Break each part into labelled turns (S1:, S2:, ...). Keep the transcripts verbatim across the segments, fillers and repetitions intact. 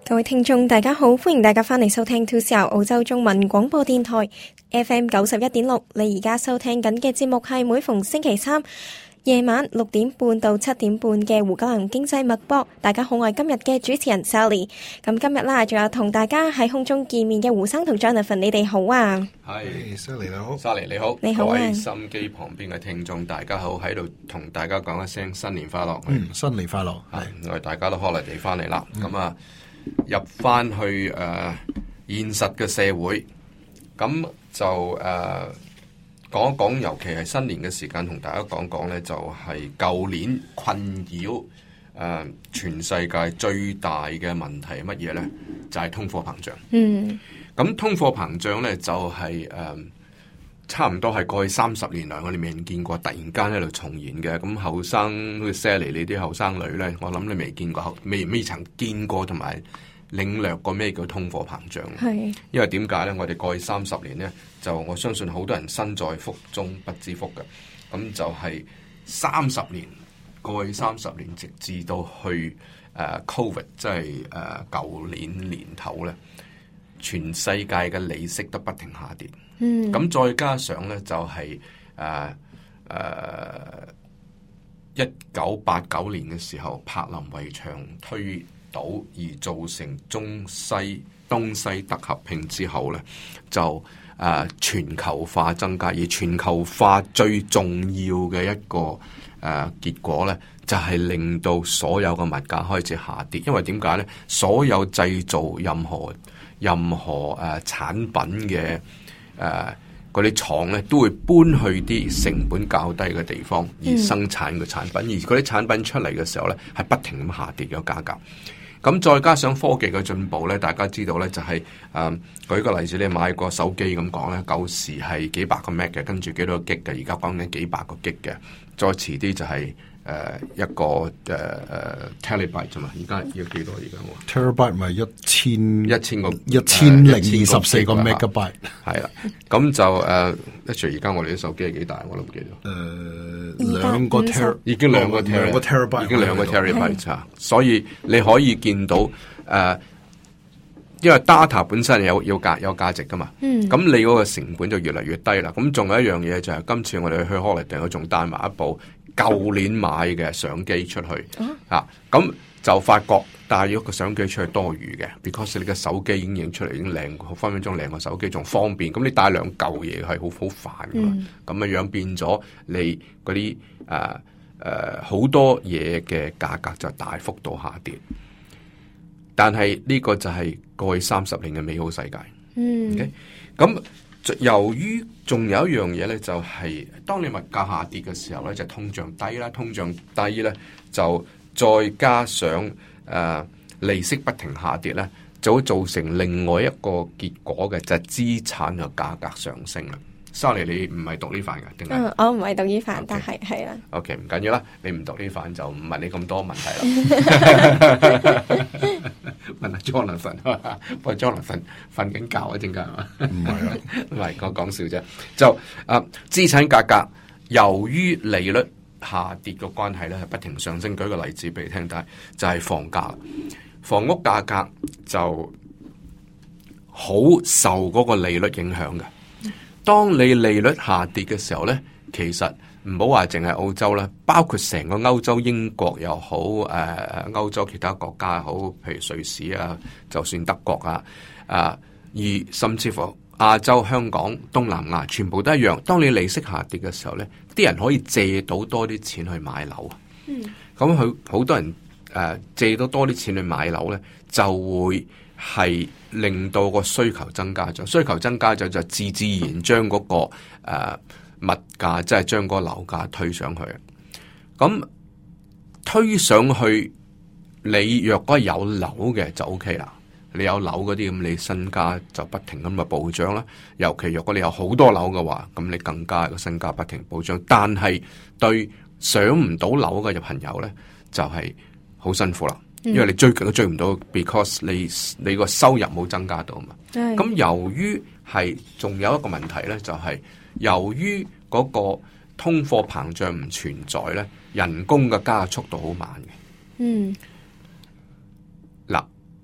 S1: 各位聽眾大家好，歡迎大家翻嚟收聽 two C R 澳洲中文廣播電台 F M 九十一點六。你而家收聽緊嘅節目係每逢星期三夜晚六點半到七點半嘅胡嘉龍經濟脈搏。大家好，我係今日嘅主持人 Sally。咁今日啦，仲有同大家喺空中見面嘅胡生同 Jonathan， 你哋好啊？
S2: 係 Sally 你好
S3: ，Sally 你好，
S1: 你好啊！
S3: 各位心機旁邊嘅聽眾，大家好，喺度同大家講一聲新年快樂。
S2: 嗯，新年快樂。
S3: 係我哋大家都 holiday 翻嚟啦，咁啊、嗯、入翻去誒、呃、現實嘅社會，咁就誒。呃講一講，尤其係新年嘅時間，同大家講講呢，就係舊年困擾誒、呃、全世界最大嘅問題係乜嘢呢？就係、是、通貨膨脹。嗯，咁通貨膨脹呢，就係、是、誒、呃、差唔多係過去三十年來我哋未見過，突然間喺度重現嘅。咁後生好似 Sally 你啲後生女呢，我諗你未見過，未未曾見過同埋領略過咩叫通貨膨脹。係，因為點解呢？我哋過去三十年呢。就我相信好多人身在福中不知福嘅，咁就係三十年過去三十年，直至到去誒、uh, Covid， 即係誒舊年年頭咧，全世界嘅利息都不停下跌。嗯，咁再加上咧就係誒誒一九八九年嘅時候，柏林圍牆推倒而造成中西東西德合併之後咧，就誒、啊、全球化增加，而全球化最重要嘅一個誒、啊、結果咧，就係、是、令到所有嘅物價開始下跌。因為點解咧？所有製造任何任何誒、啊、產品嘅誒嗰啲廠咧，都會搬去啲成本較低嘅地方而生產嘅產品，嗯、而嗰啲產品出嚟嘅時候咧，係不停咁下跌嘅價格。咁再加上科技嘅進步咧，大家知道咧就係、是、誒、呃，舉個例子，你買個手機咁講咧，舊時係幾百個 Mac 嘅，跟住幾多個 G 嘅，而家講緊幾百個 G 嘅，再遲啲就係、是、誒、呃、一個誒誒、呃、Terabyte 啫嘛，而家要幾多而家喎
S2: Terabyte 咪一千
S3: 一千個
S2: 一千零二十四個 Megabyte
S3: 係啦，咁就誒，一除而家我哋啲手機係幾大，我都唔記得。
S2: 誒兩個 Ter
S3: 已經兩個 Ter
S2: 兩個 Terabyte
S3: 已經兩個 Terabyte 嚇，所以你可以見到誒、呃，因為 data 本身有有價有價值噶嘛，咁、嗯、你嗰個成本就越嚟越低啦。咁仲有一樣嘢就係、是、今次我哋去 holiday，我仲帶埋一部舊年買嘅相機出去，嚇、啊、咁就發覺帶咗個相機出去多餘嘅 ，because 你嘅手機已經影出嚟已經靚，分分鐘靚過手機，仲方便。咁你帶兩嚿嘢係好好煩噶嘛，咁嘅、嗯、樣變咗你嗰啲誒誒好多嘢嘅價格就大幅度下跌。但係呢個就係過去三十年嘅美好世界。嗯，咁、okay? 由於仲有一樣嘢咧，就係、是、當你物價下跌嘅時候咧，就通脹低啦，通脹低咧就再加上誒、呃、利息不停下跌咧，就會造成另外一個結果嘅，就係、是、資產嘅價格上升啦。Sorry， 你唔係讀呢範嘅，定係？
S1: 嗯，我唔係讀呢範，
S3: Okay.
S1: 但係係啦。
S3: OK， 唔緊要啦，你唔讀呢範就唔問你咁多問題啦。問下 Jonathan， 不過 Jonathan 瞓緊覺啊，陣間係嘛？唔係啊，唔係我講笑啫。就啊，資產價格由於利率下跌嘅關係咧，係不停上升。舉個例子俾你聽，但係就係房價，房屋價格就好受嗰個利率影響嘅。當你利率下跌嘅時候咧，其實唔好話淨係澳洲啦，包括成個歐洲，英國又好，誒、呃、歐洲其他國家又好，譬如瑞士啊，就算德國啊，啊，而甚至乎亞洲、香港、東南亞，全部都一樣。當你利息下跌嘅時候咧，啲人可以借到多啲錢去買樓。嗯，咁佢好多人誒、呃、借到多啲錢去買樓咧，就會係令到個需求增加咗，需求增加咗就自自然將嗰、那個誒、呃、物價，即係將嗰個樓價推上去。咁推上去，你若果有樓嘅就 O K 啦。你有樓嗰啲咁，你身家就不停咁嘅暴漲啦。尤其若果你有好多樓嘅話，咁你更加個身家不停暴漲。但係對上唔到樓嘅朋友咧，就係、是、好辛苦啦。因為你追極都追唔到 ，because 你你個收入冇增加到嘛。咁對由於係仲有一個問題咧，就係、是、由於嗰個通貨膨脹唔存在咧，人工嘅加速度好慢嘅。嗯，嗱，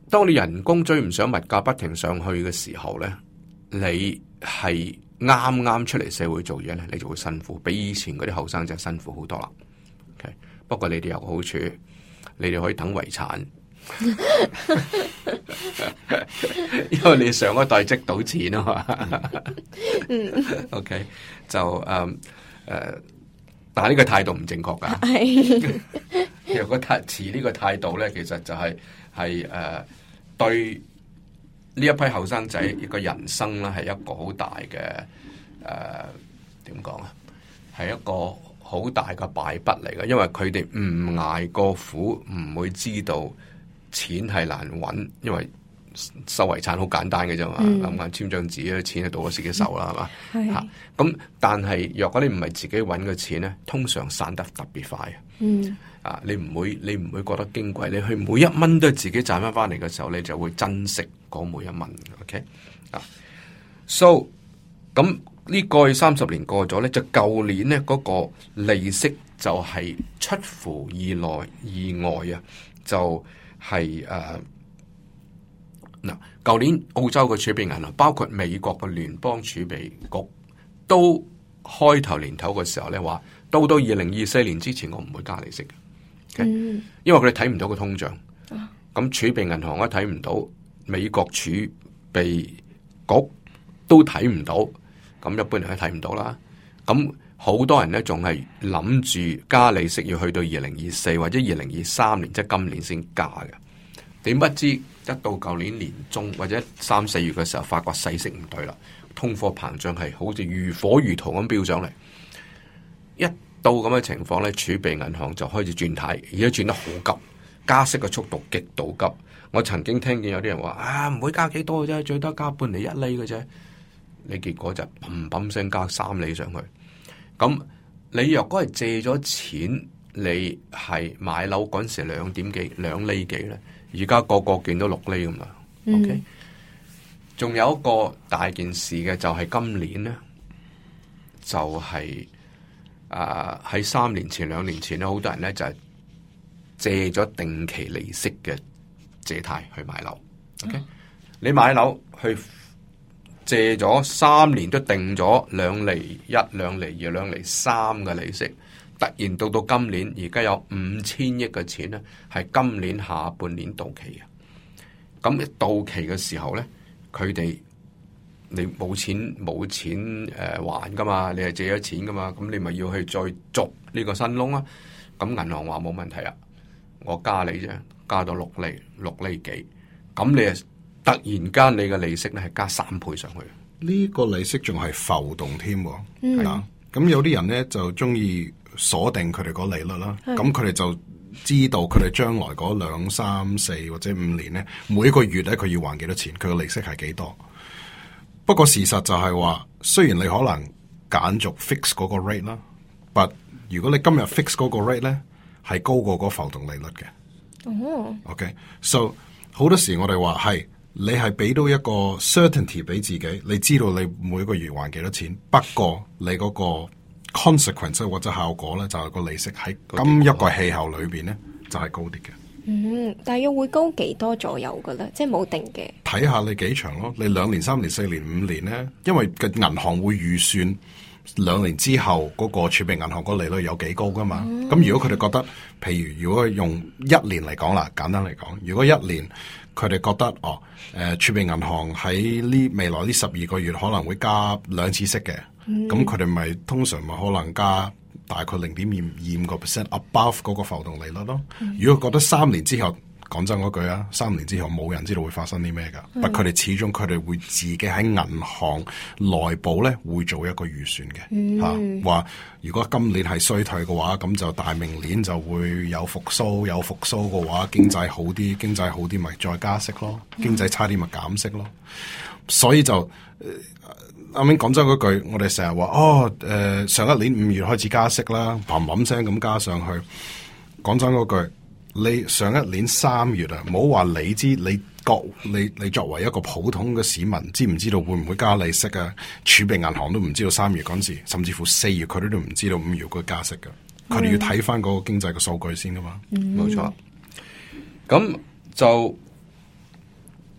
S3: 當你人工追唔上物價不停上去嘅時候咧，你係啱啱出嚟社會做嘢咧，你就會辛苦，比以前嗰啲後生仔辛苦好多啦。Okay? 不過你哋有個好處，你哋可以等遺產，因為你上一代積到錢啊嘛。OK， 就誒誒、嗯呃，但係呢個態度唔正確噶。如果持呢個態度咧，其實就係係誒對呢一批後生仔一個人生咧，係一個好大嘅誒點講啊，係一個好大嘅敗筆嚟嘅，因為佢哋唔捱過苦，唔會知道錢係難揾，因為收遺產好簡單嘅啫嘛，咁啊簽張紙咧，錢就到咗自己手啦，係嘛、嗯？嚇咁、啊，但係若果你唔係自己揾嘅錢咧，通常散得特別快。嗯。啊！你唔會，你唔會覺得矜貴。你去每一蚊都係自己賺翻翻嚟嘅時候，你就會珍惜嗰每一蚊。OK 啊，so 咁呢個三十年過咗咧，就舊年咧嗰個利息就係出乎意內意外啊！就係誒嗱，舊年澳洲嘅儲備銀行，包括美國嘅聯邦儲備局，都開頭年頭嘅時候咧話，到到二零二四年之前，我唔會加利息嘅。Okay? 嗯、因為佢哋睇唔到個通脹，咁、啊、儲備銀行都睇唔到，美國儲備局都睇唔到，咁一般人都睇唔到啦。咁好多人咧仲係諗住加利息要去到二零二四或者二零二三年，即係今年先加嘅。點不知一到舊年年中或者三四月嘅時候，發覺勢色唔對啦，通貨膨脹係好似如火如荼咁飆上嚟，一到咁嘅情況咧，儲備銀行就開始轉軚，而家轉得好急，加息嘅速度極度急。我曾經聽見有啲人話啊，唔會加幾多嘅啫，最多加半厘一厘嘅啫。你結果就砰砰聲加三厘上去。咁你若果係借咗錢，你係買樓嗰陣時兩點幾兩厘幾咧，而家個個見到六厘咁啦。嗯、OK，仲有一個大件事嘅就係今年咧，就係、是。啊！喺三年前、兩年前咧，好多人咧就係、是、借咗定期利息嘅借貸去買樓。OK，、嗯、你買樓去借咗三年都定咗兩厘一、兩厘二、兩厘三嘅利息，突然到到今年，而家有五千億嘅錢咧，係今年下半年到期嘅。咁一到期嘅時候咧，佢哋。你冇錢冇錢誒、呃、還噶嘛？你係借咗錢噶嘛？咁你咪要去再續呢個新窿啊？咁銀行話冇問題啊，我加你啫，加到六厘六厘幾，咁你誒突然間你嘅利息咧係加三倍上去。
S2: 呢個利息仲係浮動添，係啊。咁、嗯、有啲人咧就中意鎖定佢哋個利率啦，咁佢哋就知道佢哋將來嗰兩三四或者五年咧，每一個月咧佢要還幾多錢，佢嘅利息係幾多。不過事實就係話，雖然你可能揀續 fix 嗰個 rate 啦，but 如果你今日 fix 嗰個 rate 咧，係高過嗰浮動利率嘅。哦、oh. OK，so、okay? 好多時我哋話係你係俾到一個 certainty 俾自己，你知道你每個月還幾多錢。不過你嗰個 consequence 或者效果咧，就係、是、個利息喺今一個氣候裏邊咧，就係、是、高啲嘅。
S1: 嗯，大約會高幾多左右噶啦，即係冇定嘅。睇
S2: 下你幾長咯，你兩年、三年、四年、五年咧，因為個銀行會預算兩年之後嗰個儲備銀行個利率有幾高噶嘛。咁、嗯、如果佢哋覺得，譬如如果用一年嚟講啦，簡單嚟講，如果一年佢哋覺得哦，誒、呃、儲備銀行喺呢未來呢十二個月可能會加兩次息嘅，咁佢哋咪通常咪可能加大概零點二二五個 percent above 嗰個浮動利率咯。嗯、如果覺得三年之後，講真嗰句啊，三年之後冇人知道會發生啲咩噶。不過佢哋始終佢哋會自己喺銀行內部咧會做一個預算嘅吓，話、啊、如果今年係衰退嘅話，咁就大明年就會有復甦，有復甦嘅話，經濟好啲，經濟好啲咪再加息咯，經濟差啲咪減息咯。所以就。呃啱啱講真嗰句，我哋成日話哦，誒、呃，上一年五月開始加息啦，砰砰聲咁加上去。講真嗰句，你上一年三月啊，唔好話你知，你覺你你作為一個普通嘅市民，知唔知道會唔會加利息啊？儲備銀行都唔知道三月嗰陣時，甚至乎四月佢哋都唔知道五月會加息㗎。佢哋、嗯、要睇翻嗰個經濟嘅數據先噶嘛。冇錯、嗯。咁就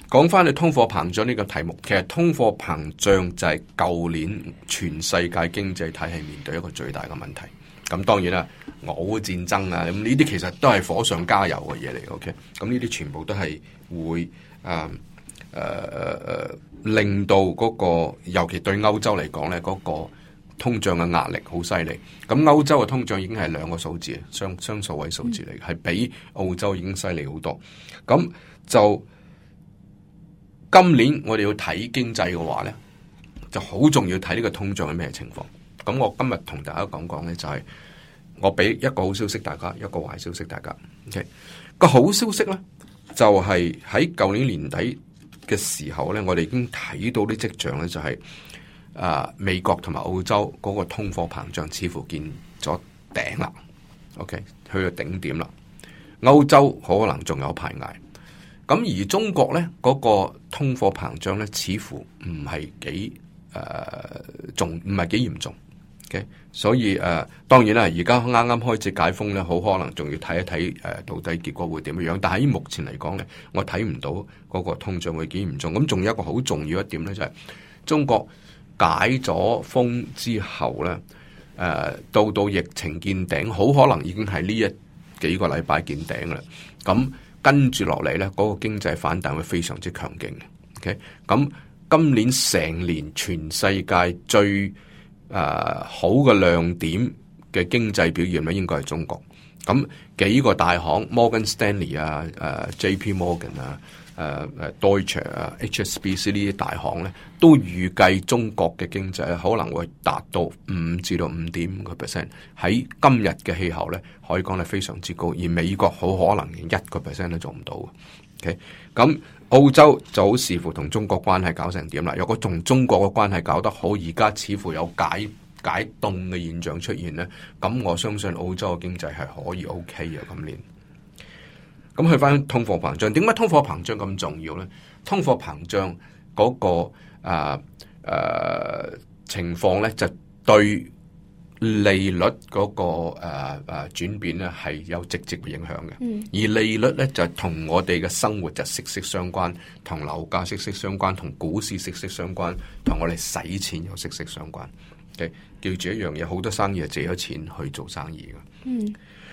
S3: 講翻去通貨膨脹呢個題目，其實通貨膨脹就係舊年全世界經濟體系面對一個最大嘅問題。咁當然啦，俄烏戰爭啊，咁呢啲其實都係火上加油嘅嘢嚟。OK，咁呢啲全部都係會誒誒誒令到嗰個，尤其對歐洲嚟講咧，嗰個通脹嘅壓力好犀利。咁歐洲嘅通脹已經係兩個數字，雙雙數位數字嚟嘅，係比澳洲已經犀利好多。咁就今年我哋要睇經濟嘅話咧，就好重要睇呢個通脹係咩情況。咁我今日同大家講講咧，就係我俾一個好消息大家，一個壞消息大家。OK，個好消息咧，就係喺舊年年底嘅時候咧，我哋已經睇到啲跡象咧，就係啊美國同埋澳洲嗰個通貨膨脹似乎見咗頂啦。OK，去到頂點啦。歐洲可能仲有排捱。咁而中國咧嗰個通貨膨脹咧，似乎唔係幾誒重，唔係幾嚴重。Okay? 所以誒、呃，當然啦，而家啱啱開始解封咧，好可能仲要睇一睇誒、呃，到底結果會點樣。但係喺目前嚟講咧，我睇唔到嗰個通脹會幾嚴重。咁仲有一個好重要一點咧，就係、是、中國解咗封之後咧，誒、呃，到到疫情見頂，好可能已經係呢一幾個禮拜見頂啦。咁跟住落嚟咧，嗰、那個經濟反彈會非常之強勁嘅。OK，咁今年成年全世界最誒、uh, 好嘅亮點嘅經濟表現咧，應該係中國。咁幾個大行 Morgan Stanley 啊、誒、uh, J P Morgan 啊、誒誒 Deutsche 啊、H S B C 呢啲大行咧，都預計中國嘅經濟可能會達到五至到五點五個 percent。喺今日嘅氣候咧，可以講係非常之高。而美國好可能連一個 percent 都做唔到。OK，咁澳洲就好視乎同中國關係搞成點啦。如果同中國嘅關係搞得好，而家似乎有解解凍嘅現象出現咧，咁我相信澳洲嘅經濟係可以 OK 嘅今年。咁去翻通貨膨脹，點解通貨膨脹咁重要咧？通貨膨脹嗰、那個誒誒、呃呃、情況咧，就對利率嗰、那個誒誒轉變咧係有直接嘅影響嘅。嗯、而利率咧就同我哋嘅生活就息息相關，同樓價息息相關，同股市息息相關，同我哋使錢又息息相關。Okay? 記住一樣嘢，好多生意係借咗錢去做生意嘅。嗯。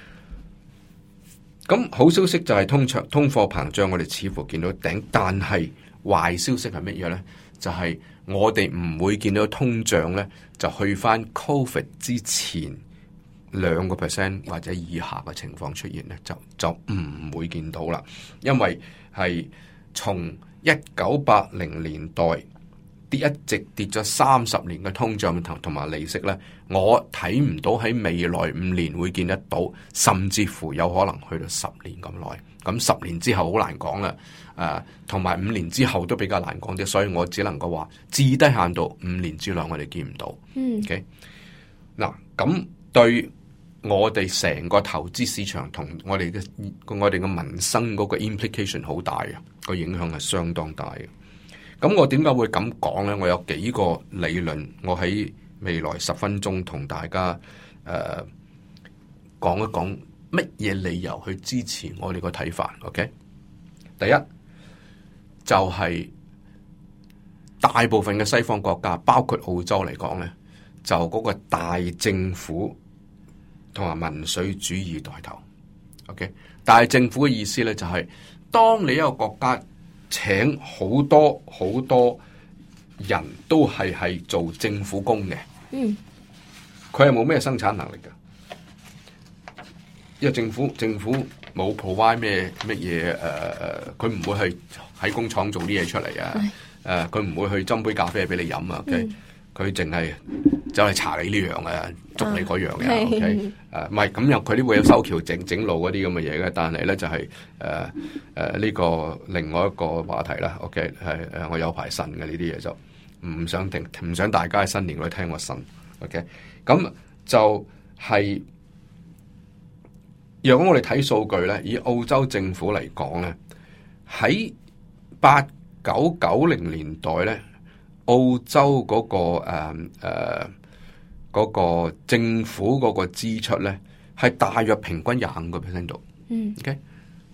S3: 咁好消息就係通脹通貨膨脹，我哋似乎見到頂，但係壞消息係乜嘢咧？就係、是、我哋唔會見到通脹咧，就去翻 Covid 之前兩個 percent 或者以下嘅情況出現咧，就就唔會見到啦。因為係從一九八零年代跌一直跌咗三十年嘅通脹同同埋利息咧，我睇唔到喺未來五年會見得到，甚至乎有可能去到十年咁耐。咁十年之後好難講啦，誒同埋五年之後都比較難講啲，所以我只能夠話至低限度五年之內我哋見唔到。嗯，OK，嗱咁對我哋成個投資市場同我哋嘅我哋嘅民生嗰個 implication 好大嘅，個影響係相當大嘅。咁我點解會咁講咧？我有幾個理論，我喺未來十分鐘同大家誒講、呃、一講乜嘢理由去支持我哋個睇法。OK，第一就係、是、大部分嘅西方國家，包括澳洲嚟講咧，就嗰個大政府同埋民粹主義帶頭。OK， 大政府嘅意思咧就係、是，當你一個國家請好多好多人都係係做政府工嘅，嗯，佢係冇咩生產能力嘅，因為政府政府冇 provide 咩乜嘢誒誒，佢唔會去喺工廠做啲嘢出嚟啊，誒，佢唔會去斟杯咖啡俾你飲啊，佢佢淨係走嚟查你呢樣啊，捉你嗰樣嘅，OK，誒，唔係咁又佢都會有修橋整整路嗰啲咁嘅嘢嘅，但係咧就係誒誒呢個另外一個話題啦，OK，係誒我有排呻嘅呢啲嘢就唔想聽，唔想大家喺新年嗰度聽我呻 ，OK，咁就係、是、如果我哋睇數據咧，以澳洲政府嚟講咧，喺八九九零年代咧。澳洲嗰、那個誒誒嗰個政府嗰個支出咧，係大約平均廿五個 percent 度。嗯，OK，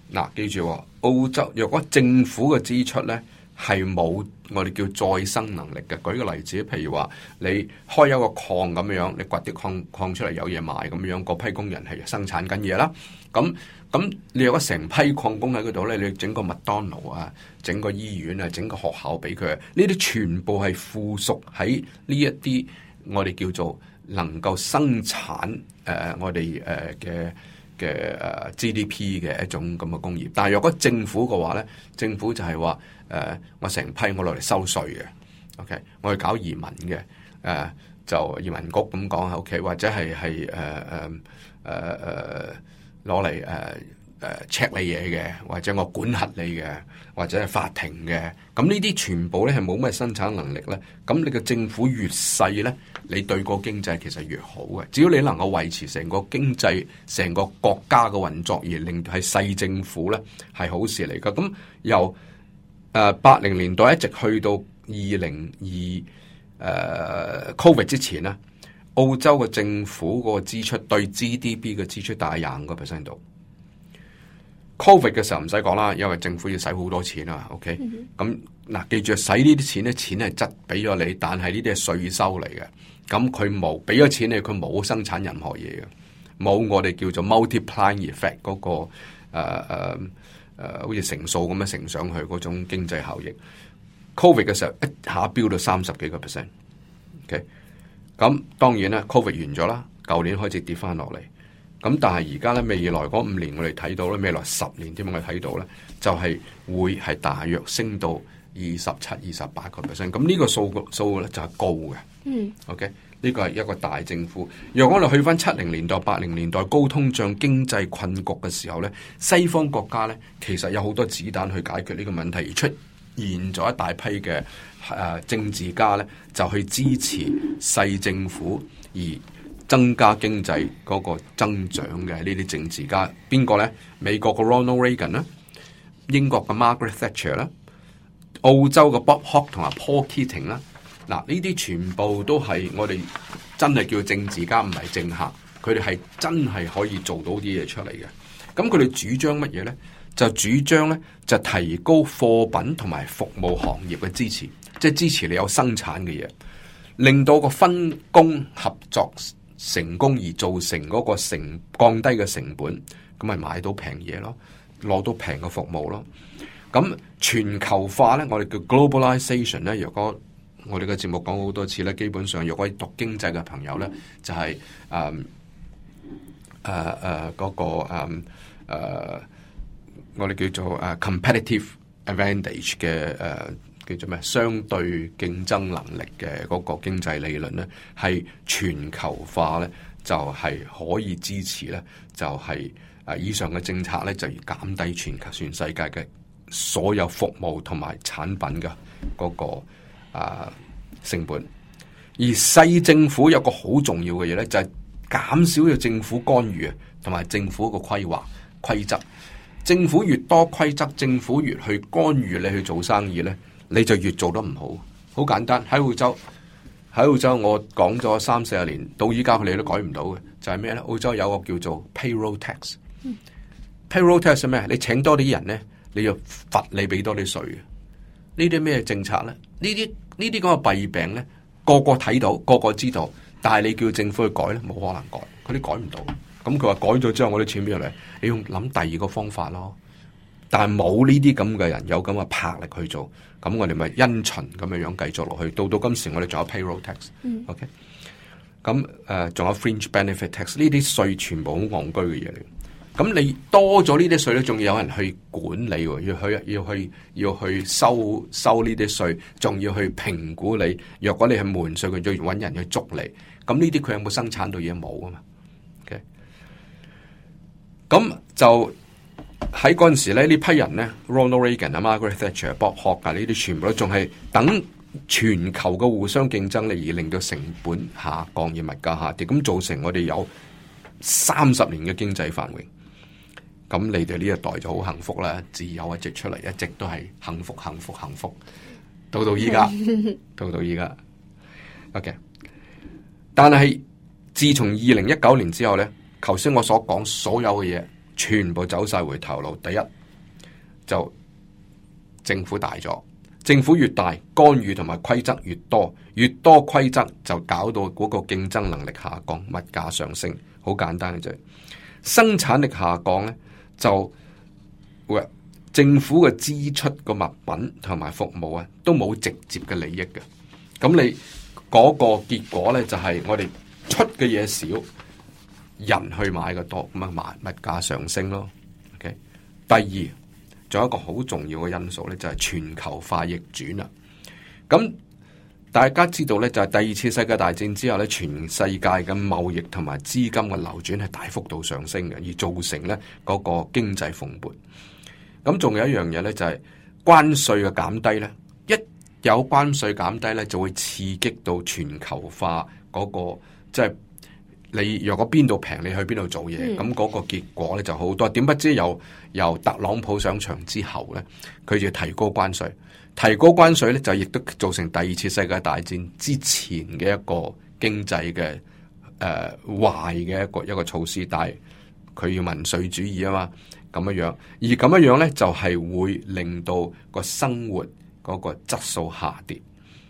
S3: 嗱，記住喎，澳洲若果政府嘅支出咧係冇我哋叫再生能力嘅。舉個例子，譬如話你開一個礦咁樣，你掘啲礦礦出嚟有嘢賣咁樣，嗰批工人係生產緊嘢啦。咁咁你有個成批礦工喺嗰度咧，你整個麥當勞啊，整個醫院啊，整個學校俾佢，呢啲全部係附屬喺呢一啲我哋叫做能夠生產誒、呃、我哋誒嘅嘅誒 G D P 嘅一種咁嘅工業。但係若果政府嘅話咧，政府就係話誒我成批我落嚟收稅嘅 ，OK， 我去搞移民嘅，誒、呃、就移民局咁講 OK， 或者係係誒誒誒誒攞嚟誒誒 check 你嘢嘅，或者我管轄你嘅，或者係法庭嘅，咁呢啲全部咧係冇咩生產能力咧。咁你嘅政府越細咧，你對個經濟其實越好嘅。只要你能夠維持成個經濟、成個國家嘅運作，而令係細政府咧，係好事嚟噶。咁由誒八零年代一直去到二零二誒 Covid 之前咧，澳洲嘅政府個支出對 G D P 嘅支出大概廿五個 percent 度。Covid 嘅時候唔使講啦，因為政府要使好多錢啊。OK，咁嗱，記住使呢啲錢咧，錢係質俾咗你，但係呢啲係稅收嚟嘅。咁佢冇俾咗錢你，佢冇生產任何嘢嘅，冇我哋叫做 multiplying effect 嗰、那個誒誒誒，好似乘數咁樣乘上去嗰種經濟效益。Covid 嘅時候一下飆到三十幾個 percent。OK，咁當然啦 ，Covid 完咗啦，舊年開始跌翻落嚟。咁但係而家咧，未來嗰五年我哋睇到咧，未來十年點樣我哋睇到咧，就係、是、會係大約升到二十七、二十八個 percent。咁呢個數數咧就係高嘅。嗯。OK，呢個係一個大政府。若果我哋去翻七零年代、八零年代高通脹、經濟困局嘅時候咧，西方國家咧其實有好多子彈去解決呢個問題，而出現咗一大批嘅誒、呃、政治家咧，就去支持細政府而增加經濟嗰個增長嘅呢啲政治家，邊個咧？美國嘅 Ronald Reagan 啦，英國嘅 Margaret Thatcher 啦，澳洲嘅 Bob Hawke 同埋 Paul Keating 啦。嗱，呢啲全部都係我哋真係叫政治家，唔係政客。佢哋係真係可以做到啲嘢出嚟嘅。咁佢哋主張乜嘢咧？就主張咧就提高貨品同埋服務行業嘅支持，即係支持你有生產嘅嘢，令到個分工合作成功而造成嗰個成降低嘅成本，咁咪買到平嘢咯，攞到平嘅服務咯。咁全球化咧，我哋叫 globalization 咧。如果我哋嘅節目講好多次咧，基本上如果讀經濟嘅朋友咧，就係誒誒誒嗰個誒、嗯呃、我哋叫做誒 competitive advantage 嘅誒。呃叫做咩？相對競爭能力嘅嗰個經濟理論咧，係全球化咧，就係、是、可以支持咧，就係、是、誒以上嘅政策咧，就要減低全球全世界嘅所有服務同埋產品嘅嗰、那個啊、呃、成本。而細政府有個好重要嘅嘢咧，就係、是、減少咗政府干預啊，同埋政府個規劃規則。政府越多規則，政府越去干預你去做生意咧，你就越做得唔好。好簡單，喺澳洲，喺澳洲我講咗三四十年，到依家佢哋都改唔到嘅，就係咩咧？澳洲有個叫做 payroll tax。嗯、payroll tax 係咩？你請多啲人咧，你要罰你俾多啲稅嘅。呢啲咩政策咧？呢啲呢啲咁嘅弊病咧，個個睇到，個個知道，但係你叫政府去改咧，冇可能改，佢哋改唔到。咁佢話改咗之後，我啲錢邊度嚟？你要諗第二個方法咯。但係冇呢啲咁嘅人有咁嘅魄力去做，咁我哋咪因循咁樣樣繼續落去。到到今時我哋仲有 payroll tax，OK，、嗯 okay? 咁誒仲有 fringe benefit tax， 呢啲稅全部好戇居嘅嘢嚟。咁你多咗呢啲稅咧，仲要有人去管理，要去要去要去收收呢啲稅，仲要去評估你。若果你係瞞稅，佢就要揾人去捉你。咁呢啲佢有冇生產到嘢？冇啊嘛。OK，咁就。喺嗰陣時咧，呢批人咧 ，Ronald Reagan 啊、Margaret Thatcher、Bob Hawke 啊，呢啲全部都仲係等全球嘅互相競爭力而令到成本下降而物價下跌，咁造成我哋有三十年嘅經濟繁榮。咁你哋呢一代就好幸福啦，自由一直出嚟，一直都係幸福、幸福、幸福，到到依家，到到依家。OK， 但係自從二零一九年之後咧，頭先我所講所有嘅嘢。全部走晒回頭路。第一， 就政府大咗，政府越大，干預同埋規則越多，越多規則就搞到嗰個競爭能力下降，物價上升。好簡單嘅啫，生產力下降咧，就會政府嘅支出個物品同埋服務啊，都冇直接嘅利益嘅。咁你嗰個結果咧，就係我哋出嘅嘢少，人去買嘅多，咁啊物物價上升咯。OK，第二，仲有一個好重要嘅因素咧，就係全球化逆轉啦。咁大家知道咧，就係第二次世界大戰之後咧，全世界嘅貿易同埋資金嘅流轉係大幅度上升嘅，而造成咧嗰個經濟蓬勃。咁仲有一樣嘢咧，就係關稅嘅減低咧，一有關稅減低咧，就會刺激到全球化嗰個，即係你若果邊度平，你去邊度做嘢，咁嗰個結果咧就好多。點不知由由特朗普上場之後咧，佢就提高關稅，提高關稅咧就亦都造成第二次世界大戰之前嘅一個經濟嘅誒壞嘅一個一個措施，但係佢要民粹主義啊嘛。咁樣樣，而咁樣樣咧，就係、是、會令到個生活嗰個質素下跌。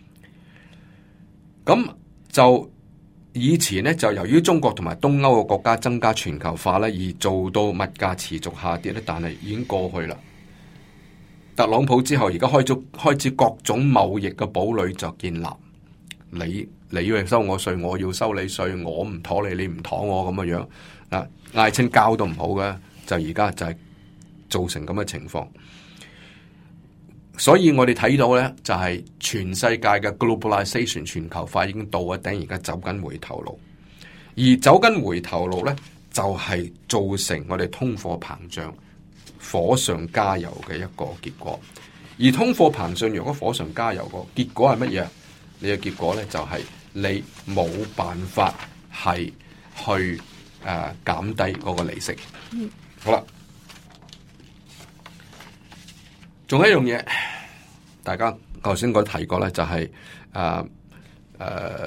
S3: 咁就以前咧，就由於中國同埋東歐嘅國家增加全球化咧，而做到物價持續下跌咧，但係已經過去啦。特朗普之後，而家開咗開始各種貿易嘅堡壘就建立，你你要收我稅，我要收你稅，我唔妥你，你唔妥我咁嘅樣啊，嗌親交都唔好嘅。就而家就係造成咁嘅情況，所以我哋睇到咧，就係全世界嘅 globalization 全球化已經到咗頂，而家走緊回頭路，而走緊回頭路咧，就係造成我哋通貨膨脹火上加油嘅一個結果。而通貨膨脹如果火上加油個結果係乜嘢？你嘅結果咧就係你冇辦法係去誒減低嗰個利息。嗯好啦，仲有一樣嘢，大家頭先我提過咧，就係誒誒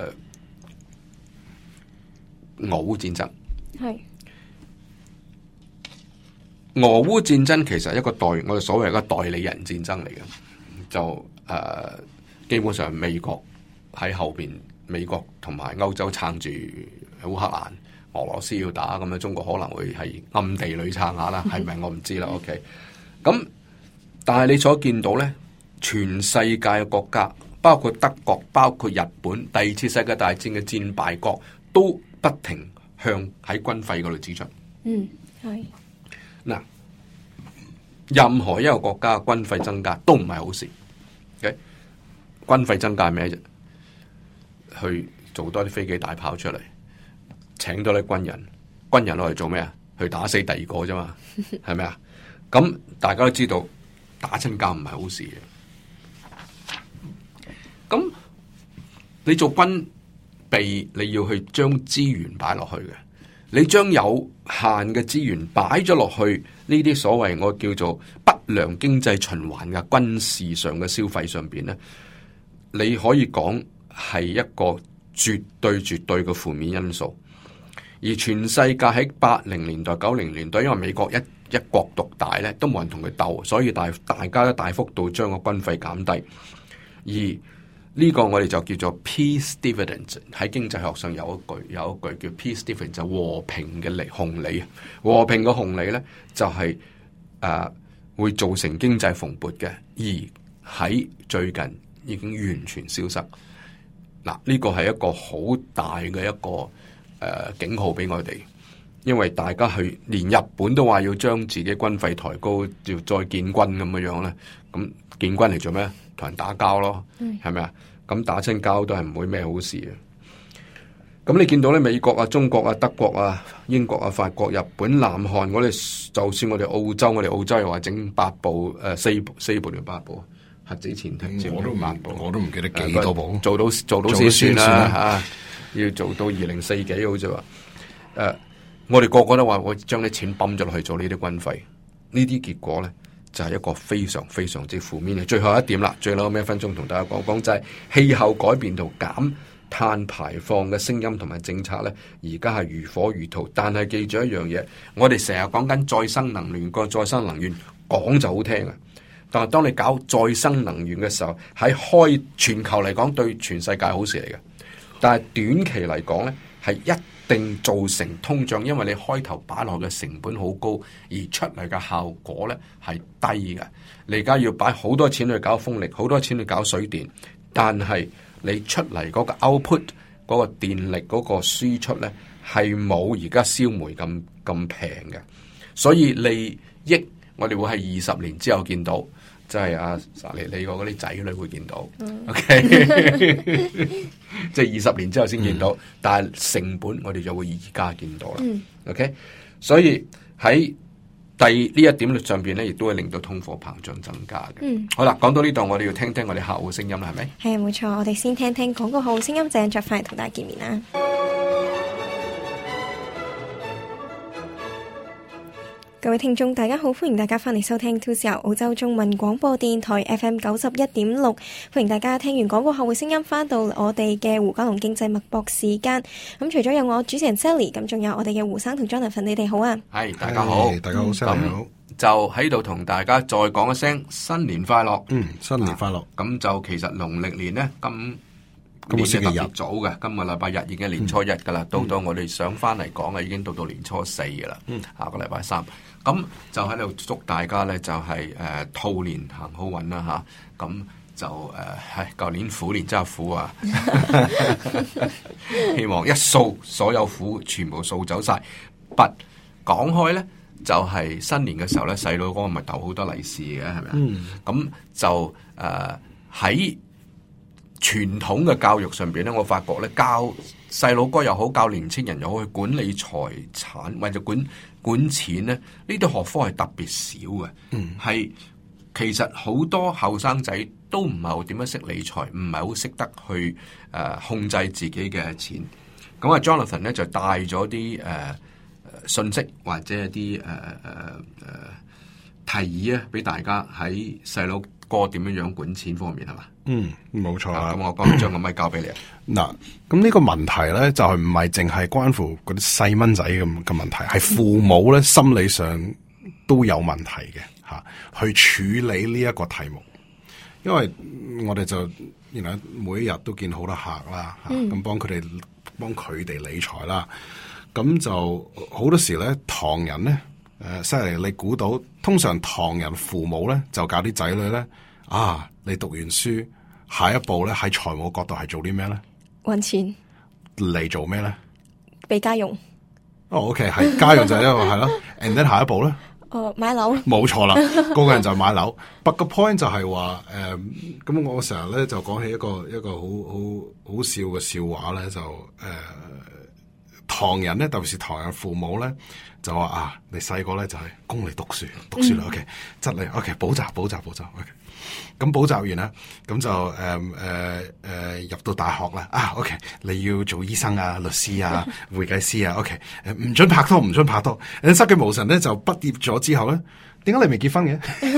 S3: 俄烏戰爭。係俄烏戰爭其實係一個代我哋所謂一個代理人戰爭嚟嘅，就誒、呃、基本上美國喺後邊，美國同埋歐洲撐住烏克蘭。俄羅斯要打咁樣，中國可能會係暗地裏撐下啦，係咪我唔知啦。OK，咁但係你所見到咧，全世界嘅國家，包括德國、包括日本，第二次世界大戰嘅戰敗國，都不停向喺軍費嗰度支出。嗯，係。嗱，任何一個國家嘅軍費增加都唔係好事。OK，軍費增加係咩啫？去做多啲飛機大炮出嚟。請多啲軍人，軍人攞嚟做咩啊？去打死第二個啫嘛，係咪啊？咁大家都知道打親交唔係好事嘅。咁你做軍備，你要去將資源擺落去嘅。你將有限嘅資源擺咗落去呢啲所謂我叫做不良經濟循環嘅軍事上嘅消費上邊咧，你可以講係一個絕對絕對嘅負面因素。而全世界喺八零年代、九零年代，因為美國一一國獨大咧，都冇人同佢鬥，所以大大家都大幅度將個軍費減低。而呢個我哋就叫做 peace dividend， 喺經濟學上有一句有一句叫 peace dividend， 就和平嘅利紅利。和平嘅紅利咧就係、是、誒、呃、會造成經濟蓬勃嘅，而喺最近已經完全消失。嗱，呢個係一個好大嘅一個。誒、呃，警號俾我哋，因為大家去連日本都話要將自己軍費抬高，要再建軍咁樣樣咧。咁建軍嚟做咩？同人打交咯，係咪啊？咁打親交都係唔會咩好事嘅。咁你見到咧，美國啊、中國啊、德國啊、英國啊、法國、日本、南韓，我哋就算我哋澳洲，我哋澳洲又話整八部誒、呃、四部四部定八部核子潛艇，我都八部，我都唔記得幾多部，做到做到先算啦吓。要做到二零四幾好似話，誒、uh,，我哋個個都話我將啲錢泵咗落去做呢啲軍費，呢啲結果咧就係、是、一個非常非常之負面嘅。最後一點啦，最後尾一分鐘同大家講講就係、是、氣候改變同減碳排放嘅聲音同埋政策咧，而家係如火如荼。但係記住一樣嘢，我哋成日講緊再生能源，個再生能源講就好聽啊， 但係當你搞再生能源嘅時候，喺開全球嚟講對全世界好事嚟嘅。但係短期嚟講咧，係一定造成通脹，因為你開頭擺落嘅成本好高，而出嚟嘅效果咧係低嘅。你而家要擺好多錢去搞風力，好多錢去搞水電，但係你出嚟嗰個 output 嗰個電力嗰個輸出咧係冇而家燒煤咁咁平嘅，所以利益我哋會係二十年之後見到。即係阿你你個嗰啲仔女會見到、嗯、，OK，即係二十年之後先見到，嗯、但係成本我哋就會而家見到啦、嗯、，OK， 所以喺第呢一點上邊咧，亦都會令到通貨膨脹增加嘅。嗯，好啦，講到呢度，我哋要聽聽我哋客戶聲音啦，係咪？
S1: 係啊，冇錯，我哋先聽聽廣告後聲音，陣再翻嚟同大家見面啦。各位聽眾大家好，歡迎大家翻嚟收聽 two C R 澳洲中文廣播電台 F M 九十一點六，歡迎大家聽完廣告後嘅聲音翻到我哋嘅胡嘉龍經濟脈搏時間。咁除咗有我主持人 Sally， 咁仲有我哋嘅胡生同 Jonathan， 你哋好啊？
S3: 係，大家好，
S2: 大家好 Sally 好。
S3: 就喺度同大家再講一聲新年快樂。
S2: 嗯，新年快樂。咁、
S3: 啊、就其實農曆年呢，今今個星期日早嘅，今個禮拜日已經係年初一噶啦、嗯，到到我哋想翻嚟講嘅已經到到年初四噶啦。嗯，下個禮拜三。咁就喺度祝大家咧，就係、是、誒、呃、兔年行好運啦嚇。咁、啊、就誒係舊年虎年真係苦啊！希望一掃所有苦全部掃走晒。不講開咧，就係、是、新年嘅時候咧，細佬哥咪逗好多利是嘅，係咪啊？咁、嗯、就誒喺傳統嘅教育上邊咧，我發覺咧教細佬哥又好，教年青人又好，去管理財產或者管管錢咧，呢啲學科係特別少嘅。嗯，係其實好多後生仔都唔係好點樣識理財，唔係好識得去誒、呃、控制自己嘅錢。咁啊 ，Jonathan 咧就帶咗啲誒信息或者係啲誒誒誒提議啊，俾大家喺細佬哥點樣樣管錢方面係嘛？嗯，
S2: 冇錯啦。
S3: 咁、啊、我講將個咪交俾你啊。
S2: 嗱，咁呢個問題咧就係唔係淨係關乎嗰啲細蚊仔咁嘅問題，係父母咧心理上都有問題嘅吓，去處理呢一個題目。因為我哋就原來每一日都見好多客啦，吓咁幫佢哋幫佢哋理財啦。咁就好多時咧，唐人咧誒，犀利，你估到通常唐人父母咧就教啲仔女咧啊，你讀完書。下一步咧喺財務角度係做啲咩咧？
S1: 搵錢
S2: 嚟做咩咧？
S1: 俾家用。
S2: 哦、oh, ，OK， 係家用就係一個係咯。And then 下一步咧？
S1: 哦，買樓。冇
S2: 錯啦，個個人就買樓。But 個 point 就係話誒，咁、呃、我成日咧就講起一個一個好好好笑嘅笑話咧，就誒、呃，唐人咧，特別是唐人父母咧，就話啊，你細個咧就係供你讀書，讀書啦、嗯、，OK， 質你 OK， 補習補習補習 OK。咁補習完啦，咁就誒誒誒入到大學啦，啊 OK， 你要做醫生啊、律師啊、會計師啊 OK， 誒唔准拍拖，唔准拍拖。誒失驚無神咧就畢業咗之後咧，點解你未結婚嘅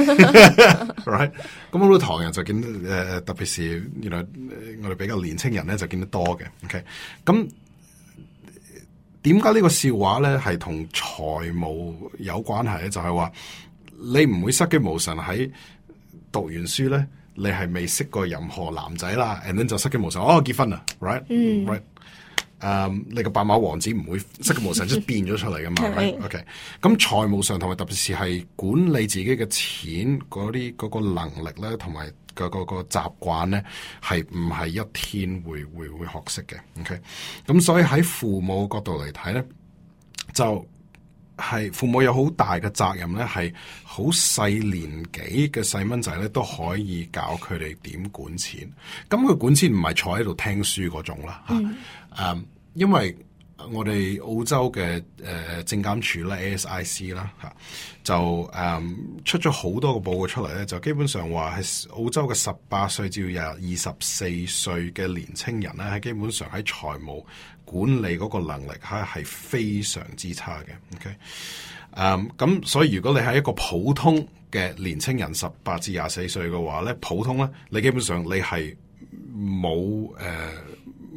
S2: ？Right， 咁好多唐人就見誒、呃，特別是原來我哋比較年青人咧就見得多嘅。OK， 咁點解呢個笑話咧係同財務有關係咧？就係、是、話你唔會失驚無神喺。讀完書咧，你係未識過任何男仔啦 and then 就失驚無神，哦結婚啦 ，right，right，、嗯 right? um, 你個白馬王子唔會失驚無神即係變咗出嚟噶嘛 ，right？OK， 咁財務上同埋特別是係管理自己嘅錢嗰啲嗰個能力咧，同埋個個個習慣咧，係唔係一天會會會學識嘅 ？OK， 咁所以喺父母角度嚟睇咧，就。係父母有好大嘅責任咧，係好細年紀嘅細蚊仔咧都可以教佢哋點管錢。咁佢管錢唔係坐喺度聽書嗰種啦，吓、嗯，誒、啊，因為我哋澳洲嘅誒證監處咧 A S I C 啦、啊、吓，就誒、嗯、出咗好多個報告出嚟咧，就基本上話係澳洲嘅十八歲至到二十四歲嘅年青人咧，係基本上喺財務管理嗰個能力係係非常之差嘅 ，OK， 誒，咁所以如果你係一個普通嘅年青人，十八至廿四歲嘅話咧，普通咧，你基本上你係冇誒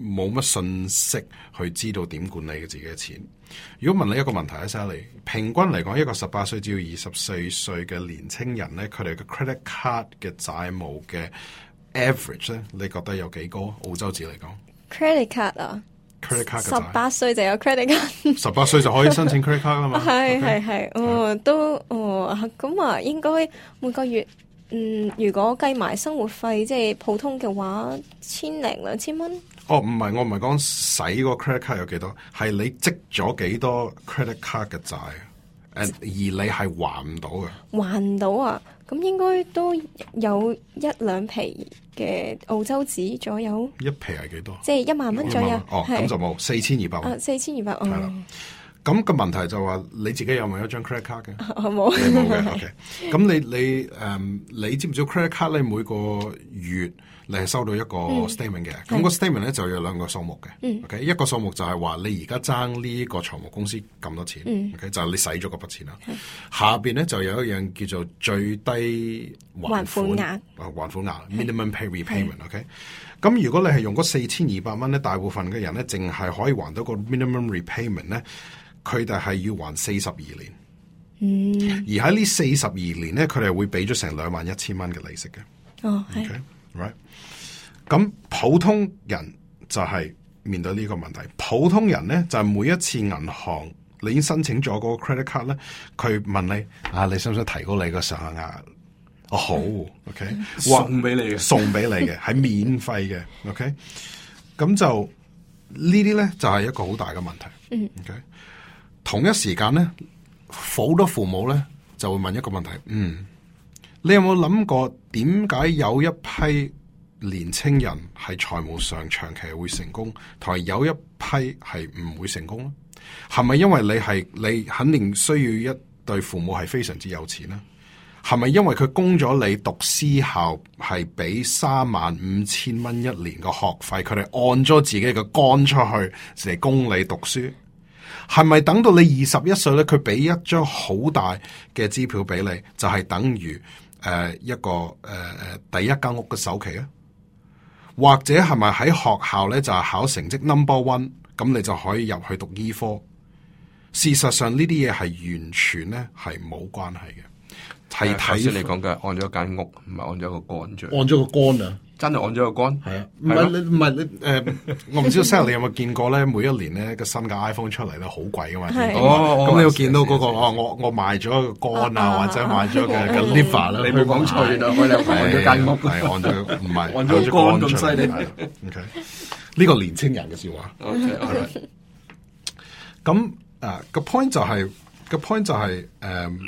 S2: 冇乜信息去知道點管理嘅自己嘅錢。如果問你一個問題咧 ，Sally， 平均嚟講，一個十八歲至到二十四歲嘅年青人咧，佢哋嘅 credit card 嘅債務嘅 average 咧，你覺得有幾高？澳洲紙嚟講
S1: credit card 啊
S2: ，credit card 嘅
S1: 十八歲就有 credit card，
S2: 十八歲就可以申請 credit card 啦嘛。
S1: 係係係，哦都哦咁啊，應該每個月。嗯，如果計埋生活費，即係普通嘅話，千零兩千蚊。
S2: 哦，唔係，我唔係講使個 credit card 有幾多，係你積咗幾多 credit card 嘅債，誒，而你係還唔到嘅。還
S1: 唔到啊？咁應該都有一兩皮嘅澳洲紙左右。
S2: 一皮係幾多？
S1: 即係一萬蚊左右。
S2: 哦，咁就冇四千二百蚊。
S1: 啊，四千二百蚊。係啦。
S2: 咁個問題就話你自己有冇一張 credit card 嘅？
S1: 我冇，
S2: 你冇嘅。OK，咁你你誒、um, 你知唔知 credit card 咧每個月你係收到一個 statement 嘅？咁、嗯、個 statement 咧就有兩個數目嘅。嗯、OK，一個數目就係話你而家爭呢個財務公司咁多錢。嗯、OK，就係你使咗嗰筆錢啦。下邊咧就有一樣叫做最低還款額啊，還款額 minimum pay repayment。OK，咁如果你係用嗰四千二百蚊咧，大部分嘅人咧淨係可以還到個 minimum repayment 咧。佢哋係要還四十二年，嗯、而喺呢四十二年咧，佢哋會俾咗成兩萬一千蚊嘅利息嘅。
S1: 哦，係、
S2: okay? right？ 咁普通人就係面對呢個問題。普通人咧就係、是、每一次銀行你已經申請咗嗰個 credit card 咧，佢問你啊，你想唔想提高你個上限額？哦，好 ，OK，
S3: 送俾你嘅，
S2: 送俾你嘅，係免費嘅 ，OK。咁就呢啲咧就係、是、一個好大嘅問題。嗯，OK。同一時間咧，好多父母咧就會問一個問題：嗯，你有冇諗過點解有一批年青人係財務上長期會成功，同埋有一批係唔會成功咧？係咪因為你係你肯定需要一對父母係非常之有錢咧？係咪因為佢供咗你讀私校係俾三萬五千蚊一年嘅學費，佢哋按咗自己嘅肝出去嚟供你讀書？係咪等到你二十一歲咧，佢俾一張好大嘅支票俾你，就係、是、等於誒、呃、一個誒誒、呃、第一間屋嘅首期啊？或者係咪喺學校咧就係、是、考成績 number one， 咁你就可以入去讀醫科？事實上呢啲嘢係完全咧係冇關係嘅。係睇
S3: 先你講嘅按咗間屋，唔係按咗個肝啫。
S2: 按咗個肝啊！
S3: 真係按咗個肝，
S2: 係啊，唔係你唔係你誒、呃，我唔知道 Sally 你有冇見過咧？每一年咧個新嘅 iPhone 出嚟咧，好貴噶嘛。哦，咁你要見到嗰、那個哦，我我賣咗個肝啊，啊或者賣咗嘅嘅 liver 啦。
S3: 你冇講錯啦，我又按咗間屋，
S2: 係按咗唔係
S3: 按咗肝咁犀利。
S2: OK，呢個年青人嘅笑話。OK，咁啊個 point 就係、是、個 point 就係、是、誒、嗯，